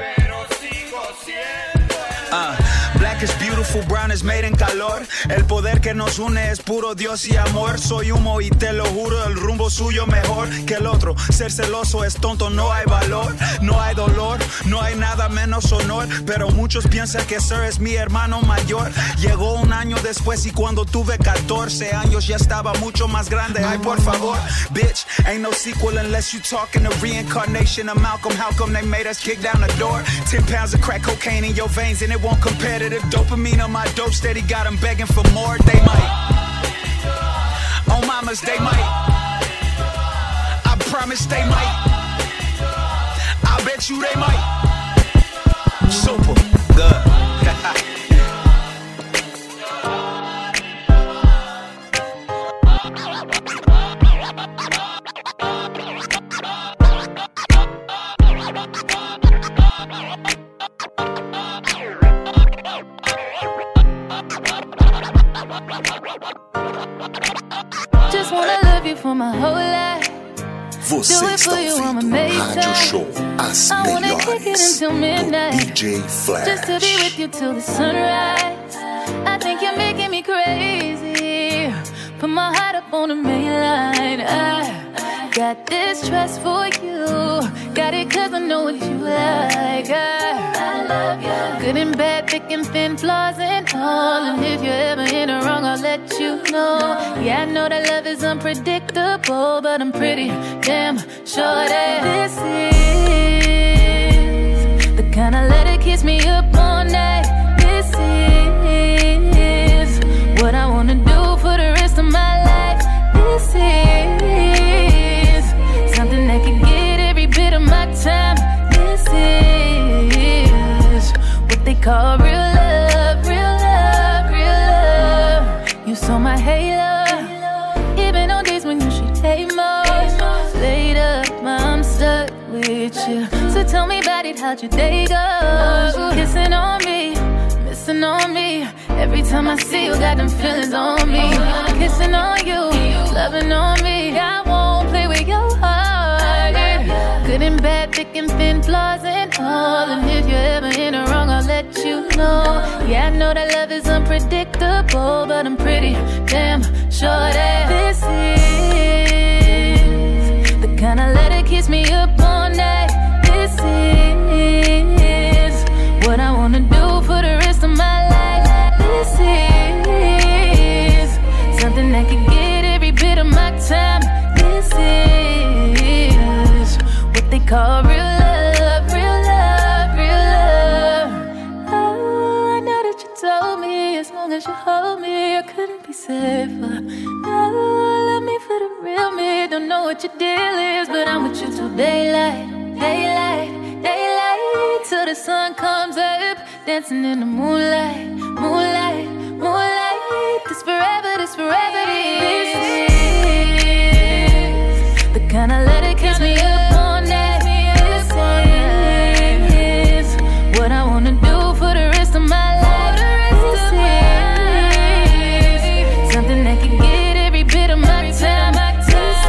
Black is beautiful, brown is made en calor. El poder que nos une es puro Dios y amor. Soy humo y te lo juro, el rumbo suyo mejor que el otro. Ser celoso es tonto, no hay valor, no hay dolor, no hay nada menos honor. Pero muchos piensan que Sir es mi hermano mayor. Llegó un año después y cuando tuve 14 años ya estaba mucho más grande. Ay, por favor, bitch, ain't no sequel unless you talking the reincarnation of Malcolm. How come they made us kick down the door? 10 pounds of crack cocaine in your veins and it won't compare to the dopamine on my dope steady got them begging for more. They might. On mamas, they might. I promise they might. I bet you they might. Super good. Just wanna love you for my whole life. Você Do it está for you, I'ma ouvindo make Rádio time. Show As I wanna kick it Melhores until midnight. DJ Flash. Just to be with you till the sunrise. I think you're making me crazy. Put my heart up on the main line. I got this trust for you. Got it cause I know what you like. I love you. Good and bad, thick and thin, flaws and all. And if you're ever in the wrong, I'll let you know. Yeah, I know that love is unpredictable, but I'm pretty damn sure that this is the kind of love that keeps me up all night. This is what I wanna do for the rest of my life. This is something that can get every bit of my time. This is what they call real love, real love, real love. You saw my halo, even on days when you should hate most. Laid up, I'm stuck with you. So tell me about it, how'd your day go? Kissing on me, missing on me. Every time I see you, got them feelings on me. Kissing on you, loving on me. I won't play with your heart. Good and bad, thick and thin, flaws and all. And if you're ever in the wrong, I'll let you know. Yeah, I know that love is unpredictable, but I'm pretty damn sure that this is the kind of love that keeps me up all night. This is what I wanna do for the rest of my life. This is something that can get every bit of my time. This is what they call real love, real love, real love. Oh, I know that you told me as long as you hold me, I couldn't be safer. Oh, love me for the real me. Don't know what your deal is, but I'm with you till daylight, daylight, daylight, till the sun comes up, dancing in the moonlight, moonlight, moonlight. This forever, this forever, this is the kind of love that keeps me up all night. This is what I wanna do for the rest of my life. This is something that can get every bit of my time. This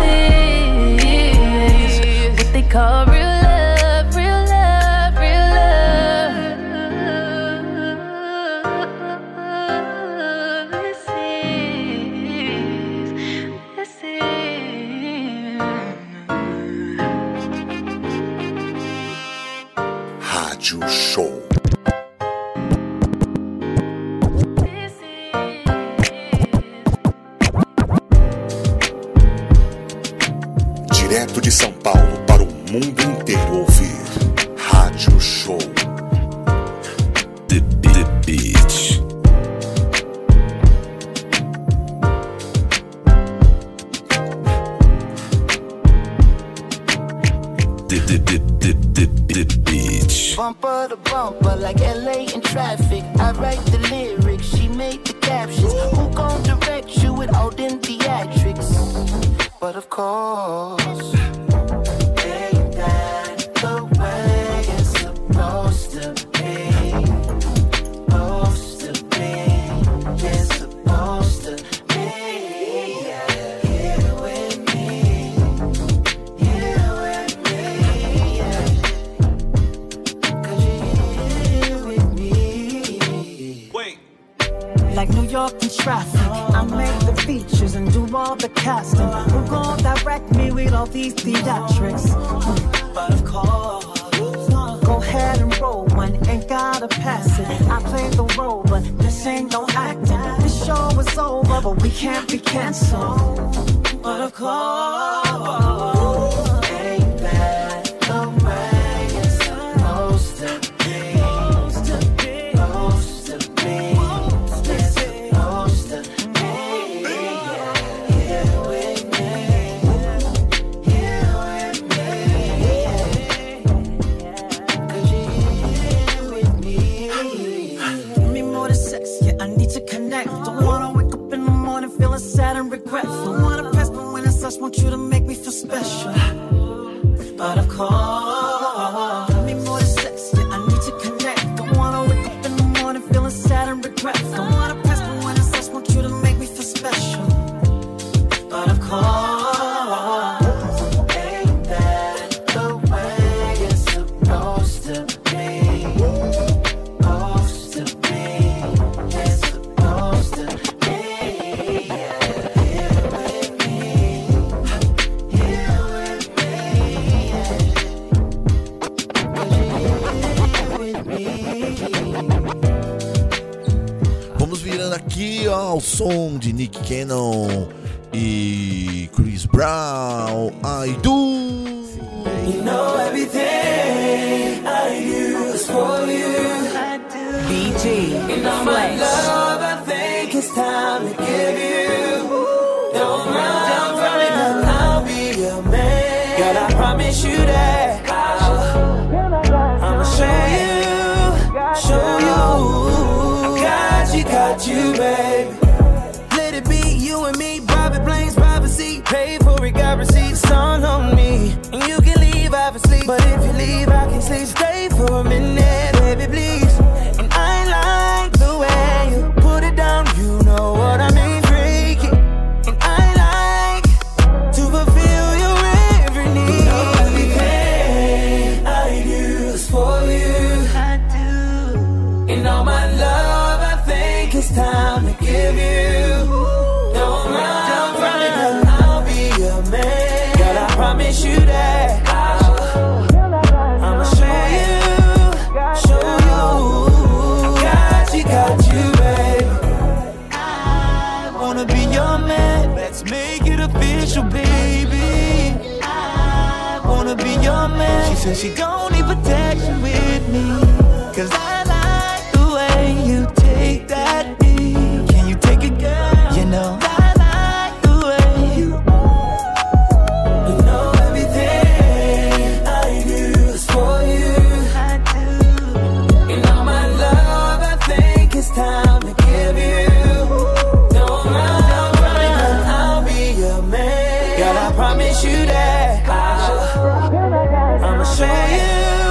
is what they call real love, real love, real love. This is Rádio Show. Direto de São Paulo para o mundo inteiro ouvir Rádio Show. The Beach. The Beach. Bumper to bumper like LA in traffic. I write the lyrics, she made the captions. Who gon' direct you with all them theatrics? But of course, ain't that the way it's supposed to be? Supposed to be, it's supposed to be. Here with me, here with me, yeah. Like New York in traffic, I make the features and do all the casting. Who gon' direct me with all these theatrics? But of course, go ahead and roll one, ain't gotta pass it. I play the role, but this ain't no acting. This show is over, but we can't be canceled. But of course, ain't that the way it's supposed to be? Supposed to be, supposed to be, it's supposed to be. Here with me, here with me, 'cause you're here with me. give me more than sex, yeah, I need to connect. Don't wanna wake up in the morning feeling sad and regretful. Wanna press, but when it's us, want you to make me feel special. But of course, give me more than sex, yeah, I need to connect. Don't wanna wake up in the morning feeling sad and regretful. Don't wanna press, but when it's us, want you to make me feel special. som de Nick Cannon e Chris Brown, I Do. You know everything I do is for you. BG, And all my love, I think it's time to give you. Don't run from it, 'cause I'll be your man. God, I promise you that I'ma show you. I got you, baby. Let it be you and me, private planes, privacy. Pay for it, got receipts, all on me. And you can leave, obviously, but if you leave, I can sleep. Stay for a minute, baby, please. And I like the way you put it down, you know what I mean, freaky. And I like to fulfill your every need. You know everything I do is for you. I do. And all my love, I think it's time to give you. Don't run from it, 'cause I'll be your man. God, I promise you that I'ma show you. Got you, baby. I wanna be your man. Let's make it official, baby. I wanna be your man. She said she gon' need protection with me, 'cause I like the way you take that beat. Can you take it, girl? You know I like the way you know everything I do is for you. I do. And all my love, I think it's time to give you. Don't run from it, 'cause I'll be your man. God, I promise you that I'ma show you.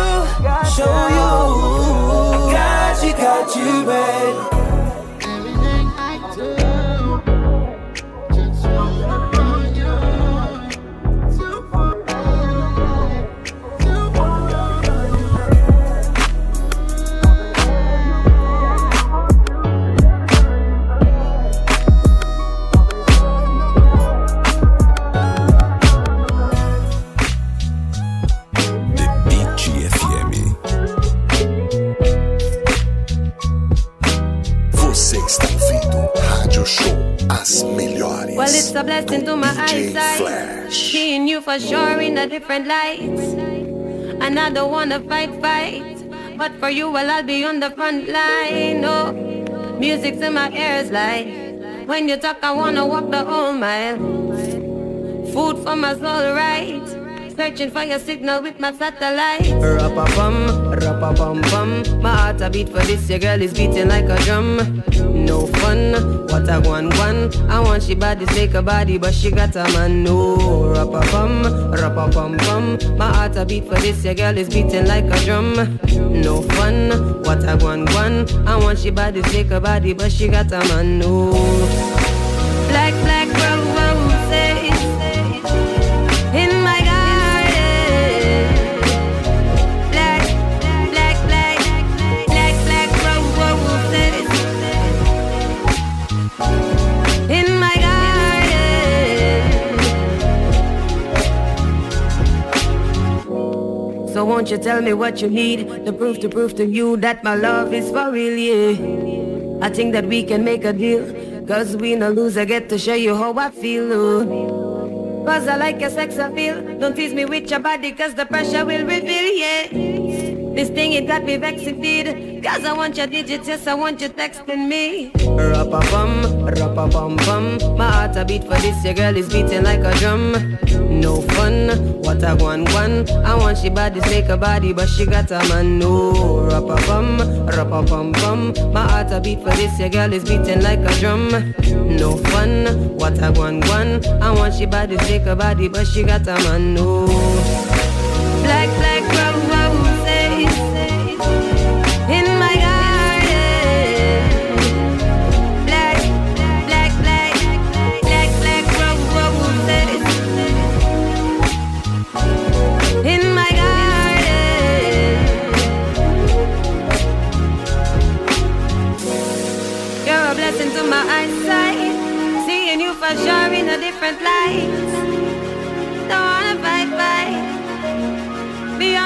Got you, baby. Everything I do, just for you. Well, it's a blessing to my eyesight, seeing you for sure in a different light. And I don't wanna fight, but for you, well, I'll be on the front line. Oh, music's in my ears like when you talk, I wanna walk the whole mile. Food for my soul, right? Searching for your signal with my satellite. Ra-pa-pum, my heart a beat for this, your girl is beating like a drum. No fun, what a one. I want she body, take a body, but she got a man. No, ra-pa-pum, my heart a beat for this, your girl is beating like a drum. No fun, what a one. I want she body, take a body, but she got a man. No, black roses in my garden. Black roses in my garden. So won't you tell me what you need to prove to you that my love is for real, yeah. I think that we can make a deal, 'cause we no lose, I get to show you how I feel, oh. 'Cause I like your sex appeal. Don't tease me with your body, 'cause the pressure will reveal, yeah. This thing, it got me vexed indeed, 'cause I want your digits, yes, I want you texting me. Ra-pa-pum, my heart a beat for this, your girl is beating like a drum. No fun, what a one. I want she body, take a body, but she got a man. No, ra-pa-pum, my heart a beat for this, your girl is beating like a drum. No fun, what a one. I want she body, take a body, but she got a man. No, black roses in my garden. Black roses in my garden. You're a blessing to my eyesight, seeing you for sure in a different light. Don't wanna fight, be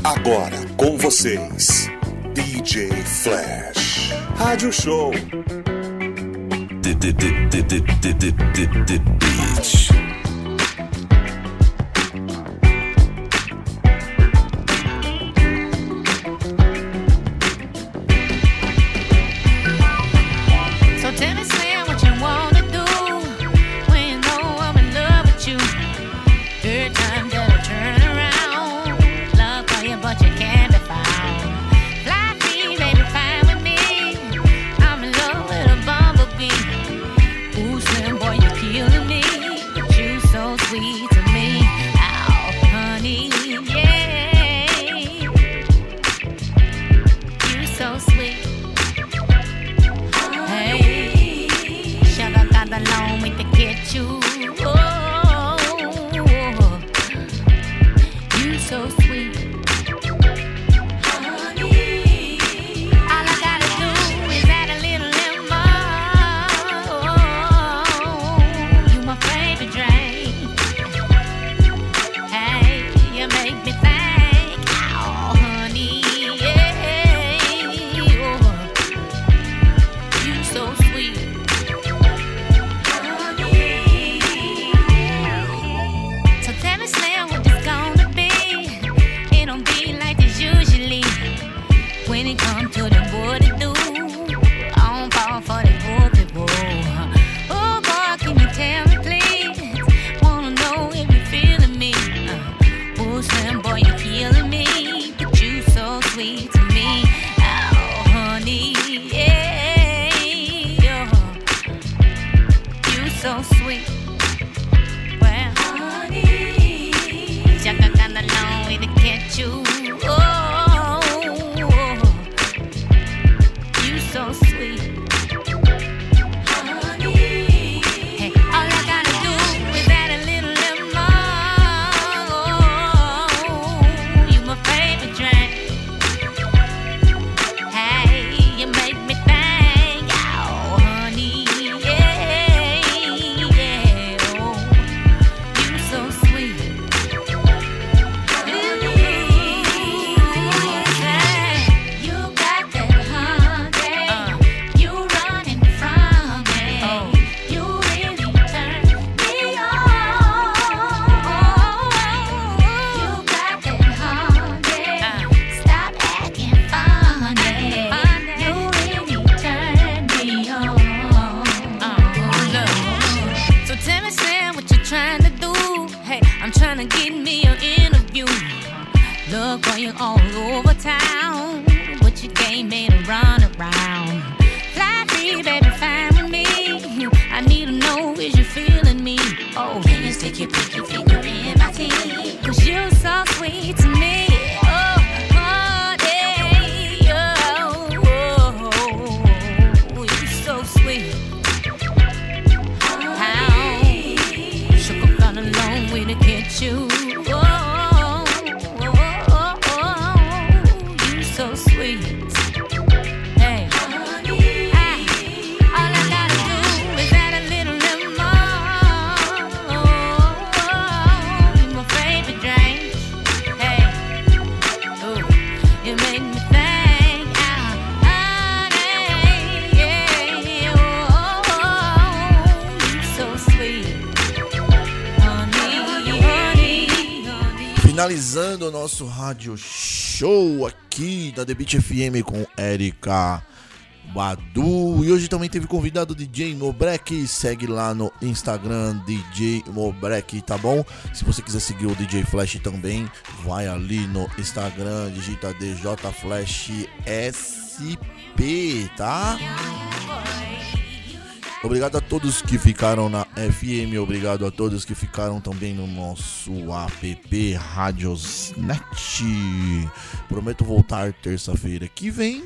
Agora com vocês, DJ Flash. Rádio Show. Beach. So tell me, Slim, what you wanna do when you know I'm in love with you. Every time that I turn around, love for you, but you can't be found. Fly free, baby, fine with me. I'm in love with a bumblebee. Ooh, Slim, boy, you're killing me, but you so sweet to me. Oh, honey, yeah, you so sweet. Hey, sugar got along with the get you. Oh, you so sweet. Honey, all I gotta do is add a little lemon. You my favorite drink. Hey, you make me think. Oh, honey, yeah. You so sweet. So tell me, Slim, what this gonna be? It don't be like this usually. When it comes to the boy to do, I don't fall for the boy. Oh boy, can you tell me please? Wanna know if you're feeling me. Oh Slim, boy, you're killing me, but you so sweet to me. Oh honey, yeah, you so sweet. Well, honey, Jacka got along with the catch you. Oh, you so sweet. Honey, hey, all I gotta do is add a little lemon. You my favorite drink. Hey, you make me think. Oh, honey, yeah, oh, you so sweet. You got that honey, you running from me. You really turn me on. You got that honey, stop acting funny. You really turn me on. Look, so tell me, Sam, what you trying to do? Hey, I'm trying to get me an interview. Look for you all over town, but you can't make a run around. Fly free, baby, fine with me. I need to know, is you feeling me? Oh, can you stick your pinky finger in my teeth? 'Cause you're so sweet to me. Oh, honey, oh, you're so sweet. How sugar got along with the get you. You so sweet. Hey, all I gotta do is add a little lemon. You my favorite drink. Hey, ooh, you make me think. Honey, yeah, oh, you so sweet. Finalizando o nosso rádio show aqui da The Beat FM com Erika Badu. E hoje também teve convidado DJ Mobrek. Segue lá no Instagram DJ Mobrek, tá bom? Se você quiser seguir o DJ Flash também, vai ali no Instagram, digita DJ Flash SP, tá? Obrigado a todos que ficaram na FM, obrigado a todos que ficaram também no nosso app Radiosnet. Prometo voltar terça-feira que vem.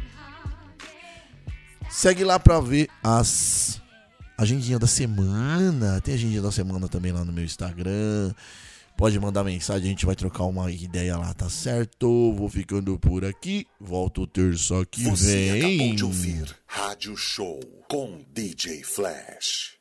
Segue lá pra ver as agendinhas da semana. Tem agendinha da semana também lá no meu Instagram. Pode mandar mensagem, a gente vai trocar uma ideia lá, tá certo? Vou ficando por aqui. Volto terça que Você vem. acabou de ouvir Rádio Show com DJ Flash.